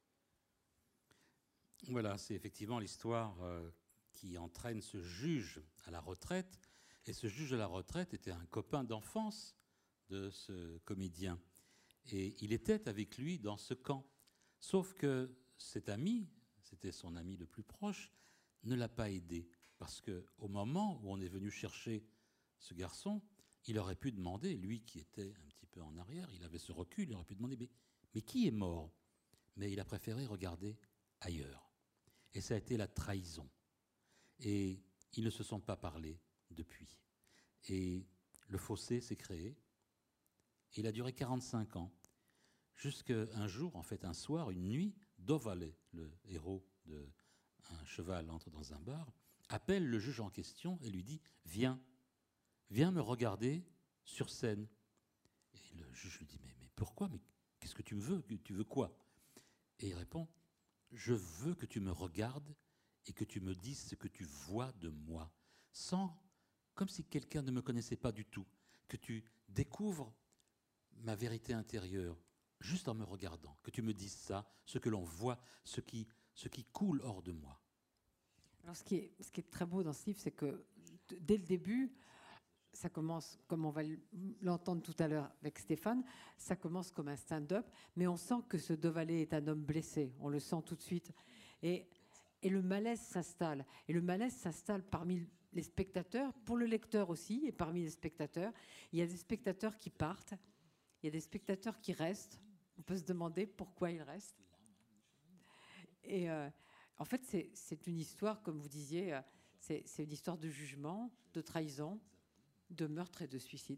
Voilà, c'est effectivement l'histoire euh, qui entraîne ce juge à la retraite. Et ce juge à la retraite était un copain d'enfance de ce comédien. Et il était avec lui dans ce camp. Sauf que cet ami, c'était son ami le plus proche, ne l'a pas aidé. Parce qu'au moment où on est venu chercher ce garçon, il aurait pu demander, lui qui était un petit peu en arrière, il avait ce recul, il aurait pu demander, mais, mais qui est mort? Mais il a préféré regarder ailleurs. Et ça a été la trahison. Et ils ne se sont pas parlé depuis. Et le fossé s'est créé. Et il a duré quarante-cinq ans. Jusqu'à un jour, en fait, un soir, une nuit, Dovale, le héros de Un cheval entre dans un bar, appelle le juge en question et lui dit « Viens, viens me regarder sur scène. » Et le juge lui dit « Mais, mais pourquoi? Mais qu'est-ce que tu veux? Tu veux quoi ?» Et il répond « Je veux que tu me regardes et que tu me dises ce que tu vois de moi, sans, comme si quelqu'un ne me connaissait pas du tout, que tu découvres ma vérité intérieure, juste en me regardant, que tu me dises ça, ce que l'on voit, ce qui, ce qui coule hors de moi. » Alors, ce qui est, ce qui est très beau dans ce livre, c'est que dès le début, ça commence, comme on va l'entendre tout à l'heure avec Stéphane, ça commence comme un stand-up, mais on sent que ce Dovale est un homme blessé, on le sent tout de suite. Et, et le malaise s'installe. Et le malaise s'installe parmi les spectateurs, pour le lecteur aussi, et parmi les spectateurs. Il y a des spectateurs qui partent, il y a des spectateurs qui restent. On peut se demander pourquoi ils restent. Et euh, en fait, c'est, c'est une histoire, comme vous disiez, c'est, c'est une histoire de jugement, de trahison, de meurtre et de suicide.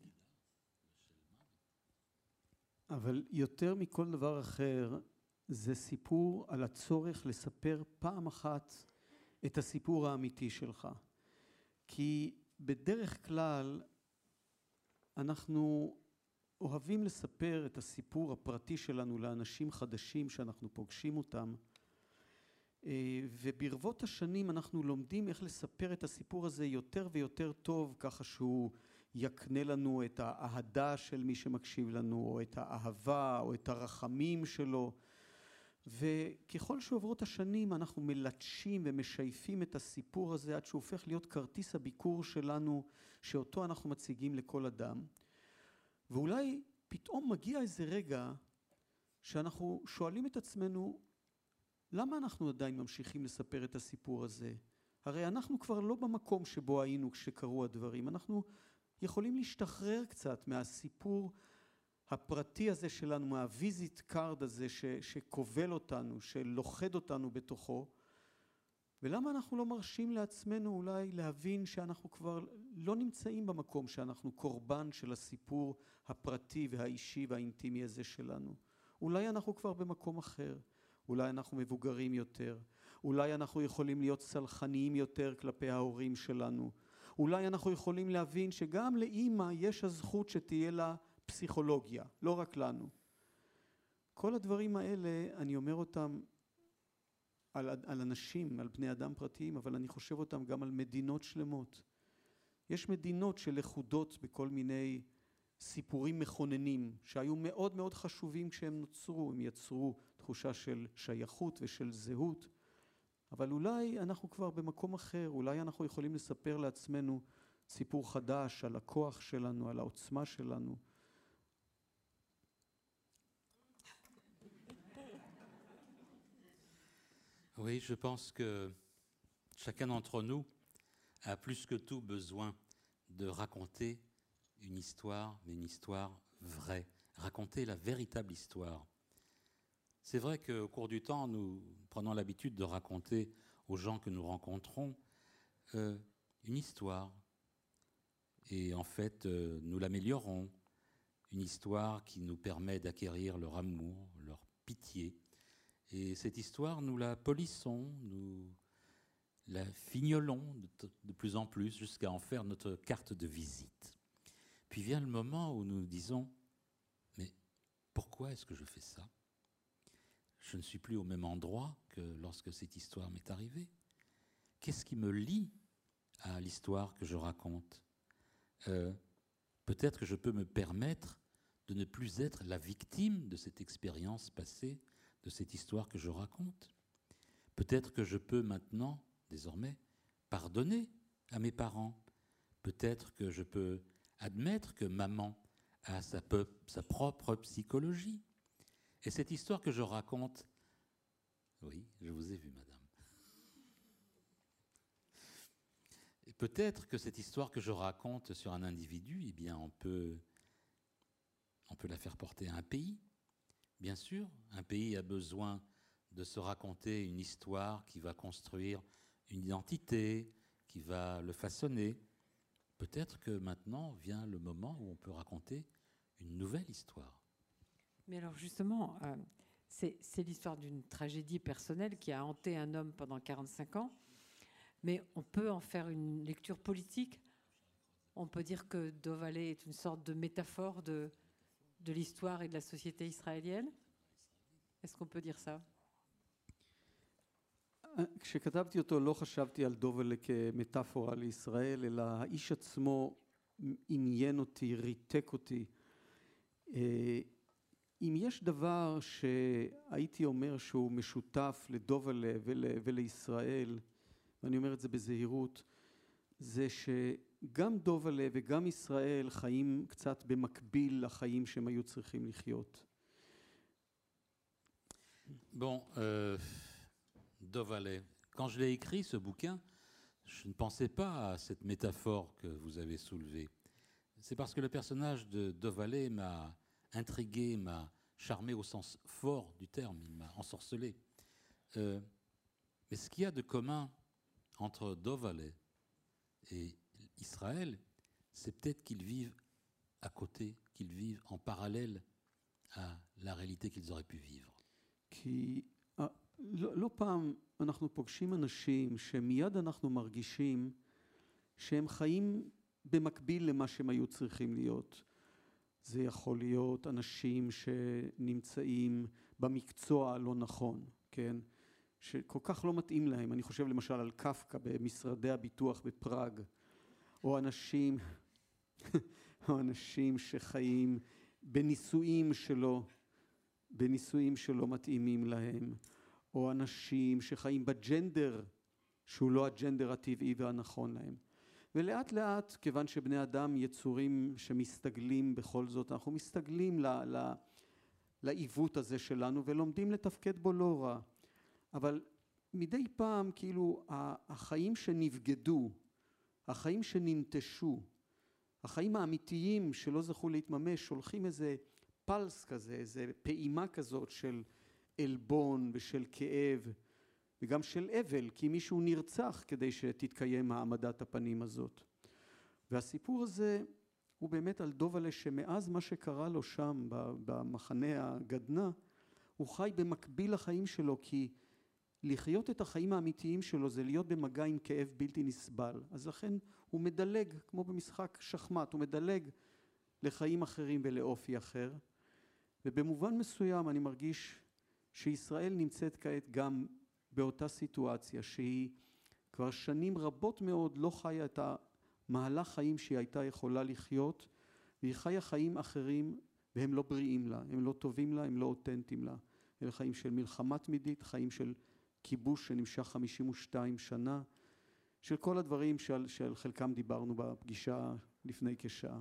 אבל יותר מכל דבר אחר, זה סיפור על הצורך לספר פעם אחת את הסיפור האמיתי שלך. כי בדרך כלל אנחנו אוהבים לספר את הסיפור הפרטי שלנו לאנשים חדשים שאנחנו פוגשים אותם, וברבות השנים אנחנו לומדים איך לספר את הסיפור הזה יותר ויותר טוב, ככה שהוא יקנה לנו את האהדה של מי שמקשיב לנו, או את האהבה, או את הרחמים שלו. וככל שעוברות השנים אנחנו מלטשים ומשייפים את הסיפור הזה עד שהוא הופך להיות כרטיס הביקור שלנו, שאותו אנחנו מציגים לכל אדם. ואולי פתאום מגיע איזה רגע שאנחנו שואלים את עצמנו, למה אנחנו עדיין ממשיכים לספר את הסיפור הזה? הרי אנחנו כבר לא במקום שבו היינו כשקרו הדברים. אנחנו יכולים להשתחרר קצת מהסיפור הפרטי הזה שלנו, מהוויזיט קארד הזה ש, שכובל אותנו, שלוחד אותנו בתוכו. ולמה אנחנו לא מרשים לעצמנו אולי להבין שאנחנו כבר לא נמצאים במקום שאנחנו קורבן של הסיפור הפרטי והאישי והאינטימי הזה שלנו? אולי אנחנו כבר במקום אחר. אולי אנחנו מבוגרים יותר, אולי אנחנו יכולים להיות סלחניים יותר כלפי ההורים שלנו, אולי אנחנו יכולים להבין שגם לאמא יש הזכות שתהיה לה פסיכולוגיה, לא רק לנו. כל הדברים האלה, אני אומר אותם על, על אנשים, על בני אדם פרטיים, אבל אני חושב אותם גם על מדינות שלמות. יש מדינות שלכודות בכל מיני סיפורים מכוננים, שהיו מאוד מאוד חשובים כשהם נוצרו, הם יצרו תחושה של שייכות ושל זהות, אבל אולי אנחנו כבר במקום אחר, אולי אנחנו יכולים לספר לעצמנו סיפור חדש על הכוח שלנו, על העוצמה שלנו. Oui, je pense que chacun d'entre nous a plus que tout besoin de raconter une histoire, mais une histoire vraie, raconter la véritable histoire. C'est vrai qu'au cours du temps, nous prenons l'habitude de raconter aux gens que nous rencontrons euh, une histoire. Et en fait, euh, nous l'améliorons. Une histoire qui nous permet d'acquérir leur amour, leur pitié. Et cette histoire, nous la polissons, nous la fignolons de, de plus en plus jusqu'à en faire notre carte de visite. Puis vient le moment où nous nous disons « Mais pourquoi est-ce que je fais ça ? Je ne suis plus au même endroit que lorsque cette histoire m'est arrivée. Qu'est-ce qui me lie à l'histoire que je raconte ? euh, Peut-être que je peux me permettre de ne plus être la victime de cette expérience passée, de cette histoire que je raconte. Peut-être que je peux maintenant, désormais, pardonner à mes parents. Peut-être que je peux admettre que maman a sa, peu, sa propre psychologie. Et cette histoire que je raconte, oui, je vous ai vu, madame. Et peut-être que cette histoire que je raconte sur un individu, eh bien, on peut, on peut la faire porter à un pays. Bien sûr, un pays a besoin de se raconter une histoire qui va construire une identité, qui va le façonner. Peut-être que maintenant vient le moment où on peut raconter une nouvelle histoire. Mais alors justement, euh, c'est, c'est l'histoire d'une tragédie personnelle qui a hanté un homme pendant quarante-cinq ans, mais on peut en faire une lecture politique. On peut dire que Dov Aleh est une sorte de métaphore de, de l'histoire et de la société israélienne. Est-ce qu'on peut dire ça? כשכתבתי אותו לא חשבתי על דוב אלה כמטאפורה לישראל, אלא האיש עצמו עניין אותי, ריתק אותי. אם יש דבר שהייתי אומר שהוא משותף לדוב אלה ול, ולישראל, ואני אומר את זה בזהירות, זה שגם דוב אלה וגם ישראל חיים קצת במקביל לחיים שהם היו צריכים לחיות. Bon, euh... Dov Aleh. Quand je l'ai écrit, ce bouquin, je ne pensais pas à cette métaphore que vous avez soulevée. C'est parce que le personnage de Dov Aleh m'a intrigué, m'a charmé au sens fort du terme, il m'a ensorcelé. Euh, mais ce qu'il y a de commun entre Dov Aleh et Israël, c'est peut-être qu'ils vivent à côté, qu'ils vivent en parallèle à la réalité qu'ils auraient pu vivre. Qui... לא, לא פעם אנחנו פוגשים אנשים שמיד אנחנו מרגישים שהם חיים במקביל למה שהם היו צריכים להיות. זה יכול להיות אנשים שנמצאים במקצוע הלא נכון, כן? שכל כך לא מתאים להם. אני חושב למשל על קפקא במשרדי הביטוח בפראג, או אנשים, או אנשים שחיים בנישואים שלא, בנישואים שלא מתאימים להם, או אנשים שחיים בג'נדר שהוא לא הג'נדר הטבעי והנכון להם. ולאט לאט, כיוון שבני אדם יצורים שמסתגלים בכל זאת, אנחנו מסתגלים ל, ל, לעיוות הזה שלנו ולומדים לתפקד בו לא רע. אבל מדי פעם כאילו החיים שנבגדו, החיים שננטשו, החיים האמיתיים שלא זכו להתממש, שולחים איזה פלס כזה, איזה פעימה כזאת של אלבון ושל כאב וגם של אבל, כי מישהו נרצח כדי שתתקיים העמדת הפנים הזאת. והסיפור הזה הוא באמת על דובלה שמאז מה שקרה לו שם במחנה הגדנ"ע, הוא חי במקביל לחיים שלו, כי לחיות את החיים האמיתיים שלו זה להיות במגע עם כאב בלתי נסבל. אז לכן הוא מדלג, כמו במשחק שחמט, הוא מדלג לחיים אחרים ולאופי אחר. ובמובן מסוים אני מרגיש שישראל נמצאת כעת גם באותה סיטואציה, שהיא כבר שנים רבות מאוד לא חיה את המהלך חיים שהיא הייתה יכולה לחיות, והיא חיה חיים אחרים והם לא בריאים לה, הם לא טובים לה, הם לא אותנטיים לה. אלה חיים של מלחמה תמידית, חיים של כיבוש שנמשך חמישים ושתיים שנה, של כל הדברים שעל, שעל חלקם דיברנו בפגישה לפני כשעה.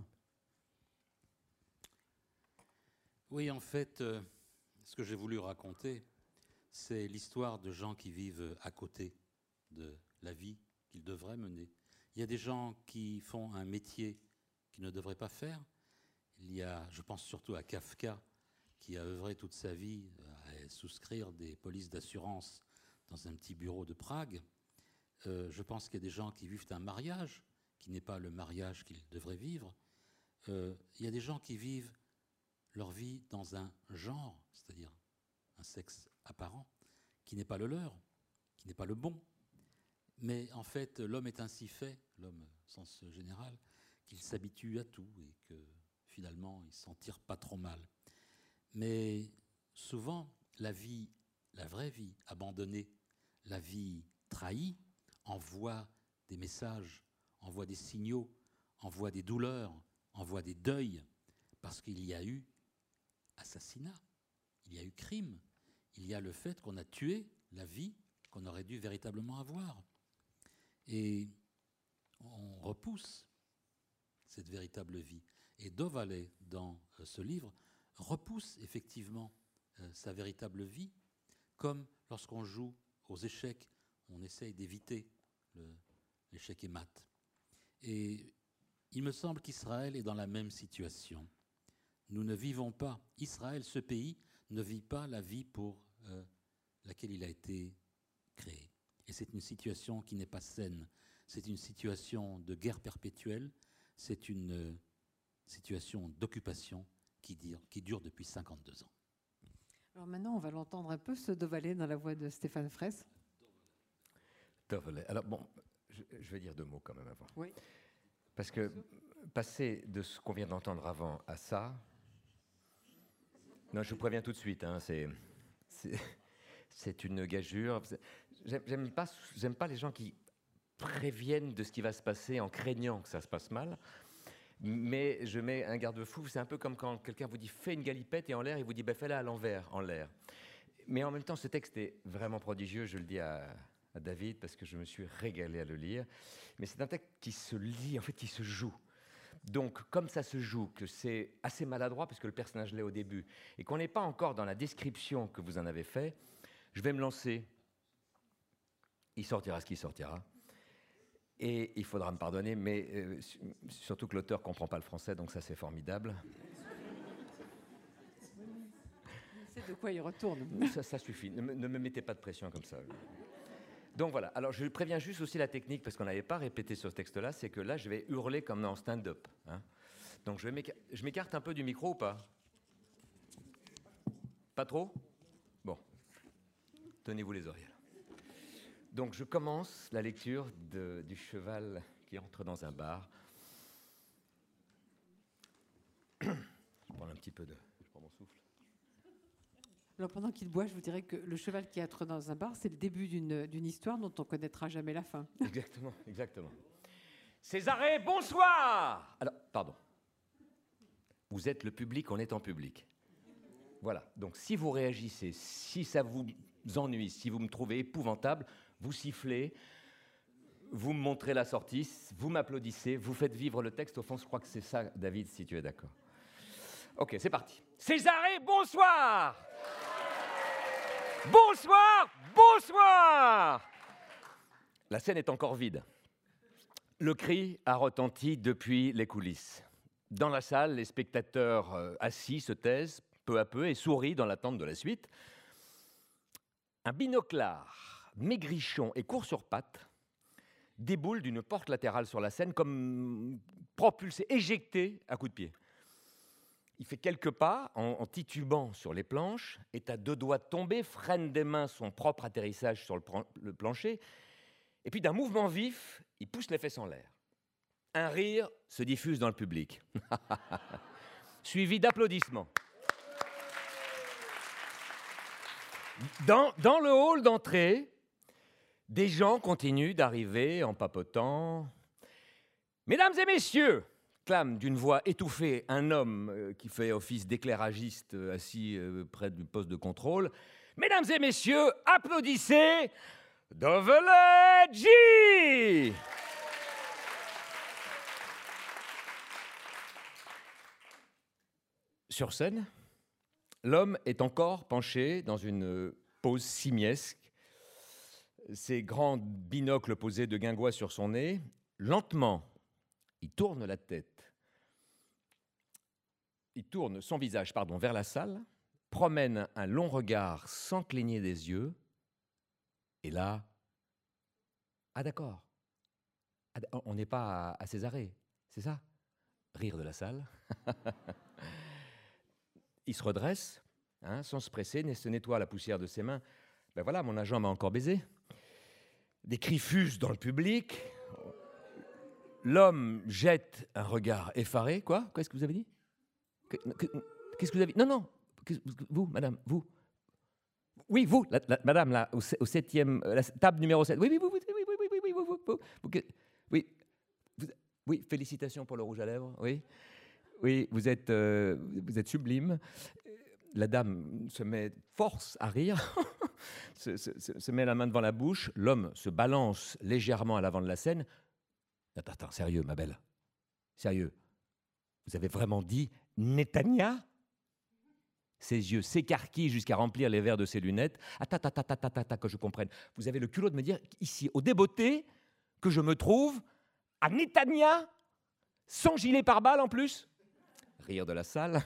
Oui, en fait, euh, ce que j'ai voulu raconter, c'est l'histoire de gens qui vivent à côté de la vie qu'ils devraient mener. Il y a des gens qui font un métier qu'ils ne devraient pas faire. Il y a, je pense surtout à Kafka, qui a œuvré toute sa vie à souscrire des polices d'assurance dans un petit bureau de Prague. Euh, je pense qu'il y a des gens qui vivent un mariage qui n'est pas le mariage qu'ils devraient vivre. Euh, il y a des gens qui vivent leur vie dans un genre, c'est-à-dire un sexe apparent, qui n'est pas le leur, qui n'est pas le bon. Mais en fait, l'homme est ainsi fait, l'homme au sens général, qu'il s'habitue à tout et que finalement, il s'en tire pas trop mal. Mais souvent, la vie, la vraie vie abandonnée, la vie trahie, envoie des messages, envoie des signaux, envoie des douleurs, envoie des deuils, parce qu'il y a eu assassinat, il y a eu crime, il y a le fait qu'on a tué la vie qu'on aurait dû véritablement avoir. Et on repousse cette véritable vie. Et Dovale, dans ce livre, repousse effectivement euh, sa véritable vie, comme lorsqu'on joue aux échecs, on essaye d'éviter le, l'échec et mat. Et il me semble qu'Israël est dans la même situation. Nous ne vivons pas, Israël, ce pays, ne vit pas la vie pour euh, laquelle il a été créé. Et c'est une situation qui n'est pas saine. C'est une situation de guerre perpétuelle. C'est une euh, situation d'occupation qui dure, qui dure depuis cinquante-deux ans. Alors maintenant, on va l'entendre un peu, ce Dovale, dans la voix de Stéphane Fraisse. Dovale. Alors bon, je, je vais dire deux mots quand même avant. Oui. Parce que passer de ce qu'on vient d'entendre avant à ça... Non, je vous préviens tout de suite, hein, c'est, c'est, c'est une gageure. J'aime, j'aime pas, j'aime pas les gens qui préviennent de ce qui va se passer en craignant que ça se passe mal. Mais je mets un garde-fou. C'est un peu comme quand quelqu'un vous dit « fais une galipette » et en l'air, il vous dit bah, « fais-la à l'envers, en l'air ». Mais en même temps, ce texte est vraiment prodigieux, je le dis à, à David, parce que je me suis régalé à le lire. Mais c'est un texte qui se lit, en fait, qui se joue. Donc, comme ça se joue, que c'est assez maladroit, parce que le personnage l'est au début, et qu'on n'est pas encore dans la description que vous en avez fait, je vais me lancer. Il sortira ce qui sortira. Et il faudra me pardonner, mais euh, surtout que l'auteur ne comprend pas le français, donc ça, c'est formidable. C'est de quoi il retourne. Ça, ça suffit. Ne me, ne me mettez pas de pression comme ça. Donc voilà, alors je préviens juste aussi la technique, parce qu'on n'avait pas répété sur ce texte-là, c'est que là, je vais hurler comme en stand-up. Hein. Donc je, vais m'éca- je m'écarte un peu du micro ou pas ? Pas trop ? Bon, tenez-vous les oreilles. Donc je commence la lecture de, du cheval qui entre dans un bar. Je prends un petit peu de... Je prends mon souffle. Alors pendant qu'il boit, je vous dirais que Le cheval qui entre dans un bar, c'est le début d'une d'une histoire dont on connaîtra jamais la fin. Exactement, exactement. Césarée, bonsoir. Alors, pardon. Vous êtes le public, on est en public. Voilà, donc si vous réagissez, si ça vous ennuie, si vous me trouvez épouvantable, vous sifflez, vous me montrez la sortie, vous m'applaudissez, vous faites vivre le texte. Au fond, je crois que c'est ça, David, si tu es d'accord. Ok, c'est parti. Césarée, bonsoir. Bonsoir, bonsoir. La scène est encore vide. Le cri a retenti depuis les coulisses. Dans la salle, les spectateurs euh, assis se taisent peu à peu et sourient dans l'attente de la suite. Un binoclard, maigrichon et court sur pattes déboule d'une porte latérale sur la scène comme propulsé, éjecté à coups de pied. Il fait quelques pas en, en titubant sur les planches, est à deux doigts de tomber, freine des mains son propre atterrissage sur le, le plancher, et puis d'un mouvement vif, il pousse les fesses en l'air. Un rire se diffuse dans le public, suivi d'applaudissements. Dans, dans le hall d'entrée, des gens continuent d'arriver en papotant. « Mesdames et messieurs !» clame d'une voix étouffée un homme euh, qui fait office d'éclairagiste euh, assis euh, près du poste de contrôle. « Mesdames et messieurs, applaudissez Dovellegi !» Sur scène, l'homme est encore penché dans une pose simiesque, ses grands binocles posés de guingois sur son nez. Lentement, il tourne la tête. Il tourne son visage pardon, vers la salle, promène un long regard sans cligner des yeux, et là, ah d'accord, ah, on n'est pas à, à Césarée, c'est ça? Rire de la salle. Il se redresse, hein, sans se presser, se nettoie la poussière de ses mains. Ben voilà, mon agent m'a encore baisé. Des cris fusent dans le public. L'homme jette un regard effaré. Quoi? Qu'est-ce que vous avez dit? Qu'est-ce que vous avez dit? Non, non. Vous, madame, vous. Oui, vous, la, la, madame, là, au, au septième, la table numéro sept. Oui, oui, oui, oui, oui, oui, oui, oui, oui, oui, oui, oui, oui, vous, oui, félicitations pour le rouge à lèvres, oui. Oui, vous êtes, euh, vous êtes sublime. La dame se met force à rire, se, se, se met la main devant la bouche. L'homme se balance légèrement à l'avant de la scène. Attends, attends, sérieux, ma belle. Sérieux. Vous avez vraiment dit Netanya? Ses yeux s'écarquillent jusqu'à remplir les verres de ses lunettes. Attends, attends, attends, attends, attends, que je comprenne. Vous avez le culot de me dire ici, au Débeauté, que je me trouve à Netanya, sans gilet pare-balles en plus? Rire de la salle.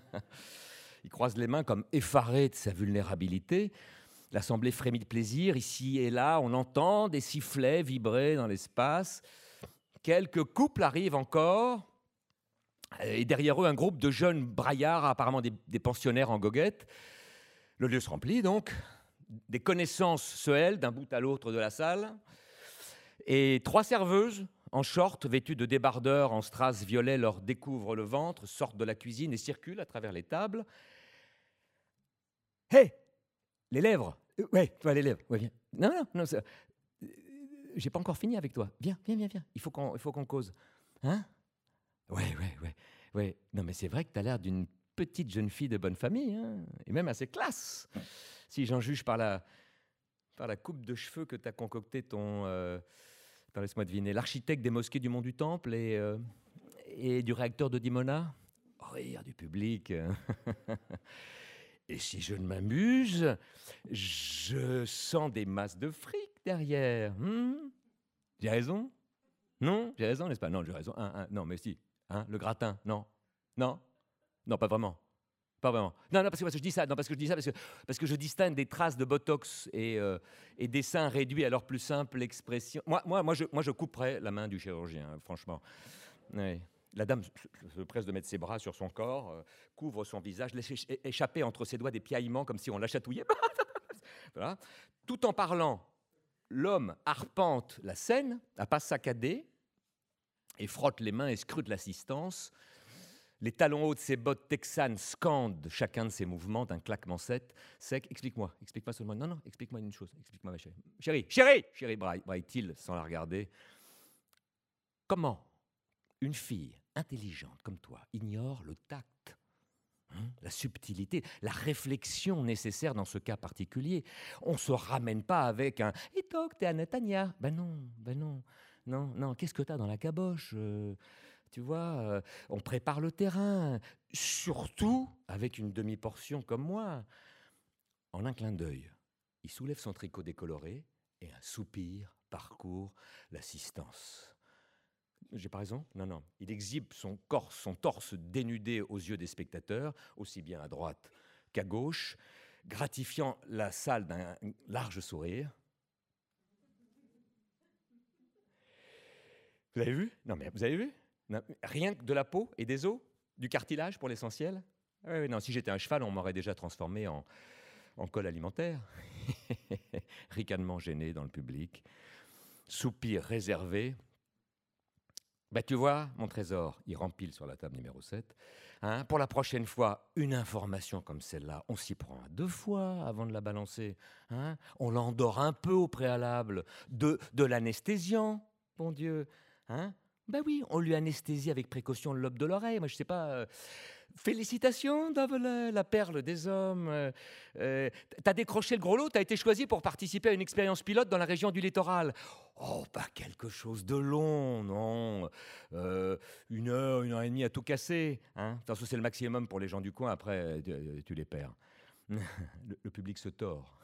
Il croise les mains comme effaré de sa vulnérabilité. L'assemblée frémit de plaisir. Ici et là, on entend des sifflets vibrer dans l'espace. Quelques couples arrivent encore. Et derrière eux, un groupe de jeunes braillards, apparemment des, des pensionnaires en goguette. Le lieu se remplit donc. Des connaissances se hèlent d'un bout à l'autre de la salle. Et trois serveuses en short, vêtues de débardeurs en strass violet, leur découvrent le ventre, sortent de la cuisine et circulent à travers les tables. Hé, hey, les lèvres. Euh, ouais, toi les lèvres. Ouais, viens. Non, non, non. Ça... J'ai pas encore fini avec toi. Viens, viens, viens, viens. Il faut qu'on, il faut qu'on cause. Hein? Ouais, ouais, ouais, ouais. Non, mais c'est vrai que t'as l'air d'une petite jeune fille de bonne famille, hein, et même assez classe. Si j'en juge par la, par la coupe de cheveux que t'as concocté ton. Euh... Attends, laisse-moi deviner. L'architecte des mosquées du Mont du Temple et, euh, et du réacteur de Dimona. Rire du public. Et si je ne m'amuse, je sens des masses de fric derrière. Hmm? J'ai raison? Non? J'ai raison, n'est-ce pas? Non, j'ai raison. Un, un, non, mais si. Hein? Le gratin? Non? Non? Non, pas vraiment. Pas vraiment. Non, non, parce que, parce que je dis ça, non, parce que je dis ça, parce que, parce que je distingue des traces de botox et, euh, et des seins réduits à leur plus simple expression. Moi, moi, moi, je, moi, je couperais la main du chirurgien, franchement. Oui. La dame se presse de mettre ses bras sur son corps, euh, couvre son visage, laisse échapper entre ses doigts des piaillements comme si on la chatouillait. Voilà. Tout en parlant, l'homme arpente la scène, à pas saccadé, et frotte les mains et scrute l'assistance. Les talons hauts de ses bottes texanes scandent chacun de ses mouvements d'un claquement sec. sec. Explique-moi, explique-moi seulement. Non, non, explique-moi une chose. Explique-moi, ma chérie. Chérie, chérie, chérie, braille-t-il sans la regarder. Comment une fille intelligente comme toi ignore le tact, hein, la subtilité, la réflexion nécessaire dans ce cas particulier? On ne se ramène pas avec un « Itok, t'es à Netanya ». Ben non, ben non, non, non. Qu'est-ce que t'as dans la caboche euh, Tu vois, euh, on prépare le terrain, surtout avec une demi-portion comme moi. En un clin d'œil, il soulève son tricot décoloré et un soupir parcourt l'assistance. J'ai pas raison? Non, non. Il exhibe son, corps, son torse dénudé aux yeux des spectateurs, aussi bien à droite qu'à gauche, gratifiant la salle d'un large sourire. Vous avez vu? Non, mais vous avez vu? Non, rien que de la peau et des os, du cartilage pour l'essentiel. Ah oui, non, si j'étais un cheval, on m'aurait déjà transformé en, en col alimentaire. Ricanement gêné dans le public. Soupir réservé. Ben, tu vois, mon trésor, il rempile sur la table numéro sept. Hein, pour la prochaine fois, une information comme celle-là, on s'y prend à deux fois avant de la balancer. Hein, on l'endort un peu au préalable de, de l'anesthésiant, bon Dieu. Hein, ben oui, on lui anesthésie avec précaution le lobe de l'oreille. Moi, je sais pas... Euh, félicitations, Davela, la perle des hommes. Euh, euh, t'as décroché le gros lot, t'as été choisi pour participer à une expérience pilote dans la région du littoral. Oh, pas quelque chose de long, non. Euh, une heure, une heure et demie à tout casser. Hein. De toute façon, c'est le maximum pour les gens du coin, après, tu, tu les perds. Le, le public se tord.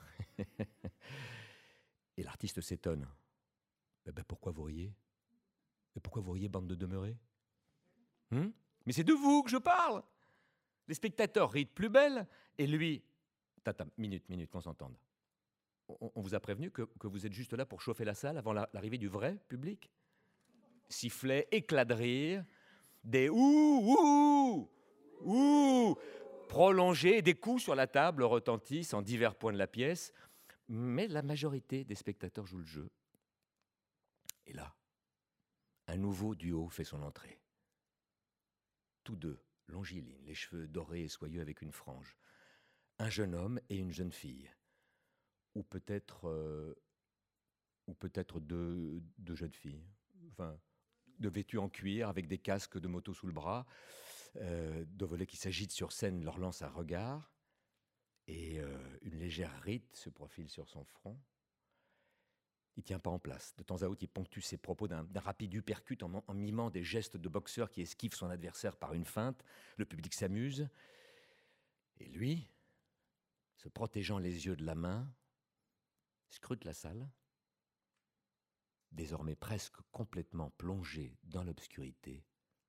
Et l'artiste s'étonne. Eh ben, pourquoi vous riez? Et pourquoi vous riez, bande de demeurés? hum Mais c'est de vous que je parle. Les spectateurs rient de plus belle, et lui... Tata, minute, minute, qu'on s'entende. On, on vous a prévenu que, que vous êtes juste là pour chauffer la salle avant la, l'arrivée du vrai public? Sifflet, éclat de rire, des ouh, ouh, ouh, prolongés, des coups sur la table retentissent en divers points de la pièce, mais la majorité des spectateurs jouent le jeu. Et là, un nouveau duo fait son entrée. Tous deux, longilines, les cheveux dorés et soyeux avec une frange. Un jeune homme et une jeune fille. Ou peut-être, euh, ou peut-être deux, deux jeunes filles. Enfin, de vêtues en cuir avec des casques de moto sous le bras. Euh, deux volets qui s'agitent sur scène leur lancent un regard. Et euh, une légère ride se profile sur son front. Il ne tient pas en place. De temps à autre, il ponctue ses propos d'un, d'un rapide uppercut en, en mimant des gestes de boxeur qui esquive son adversaire par une feinte. Le public s'amuse. Et lui, se protégeant les yeux de la main, scrute la salle, désormais presque complètement plongé dans l'obscurité.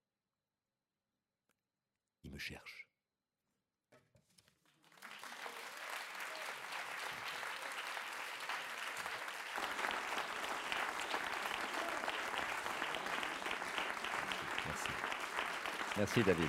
Il me cherche. Merci. Merci, David.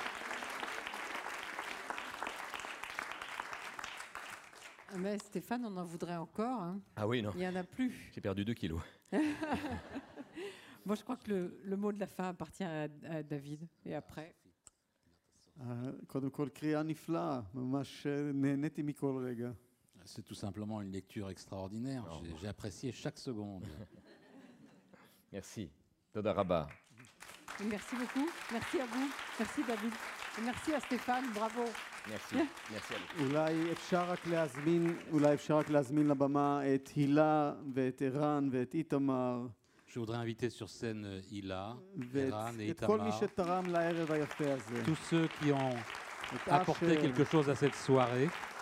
Mais Stéphane, on en voudrait encore. Hein. Ah oui, non. Il n'y en a plus. J'ai perdu deux kilos. Moi, je crois que le, le mot de la fin appartient à, à David. Et après קודם כל, קריאה נפלאה, ממש נהניתי מכל רגע. C'est tout simplement une lecture extraordinaire. J'ai, j'ai apprécié chaque seconde. Merci. Toda Rabba. Merci beaucoup. Merci à vous. Merci David. Et merci à Stéphane. Bravo. Merci. Merci à vous. אולי אפשר רק להזמין, אולי אפשר רק להזמין לבמה את הילה ואת ערן ואת איתמר. Je voudrais inviter sur scène Hila, ואת Eran et את כל מי Itamar, שתרם לערב היפה הזה. tous ceux qui ont את apporté אשר, quelque chose à cette soirée.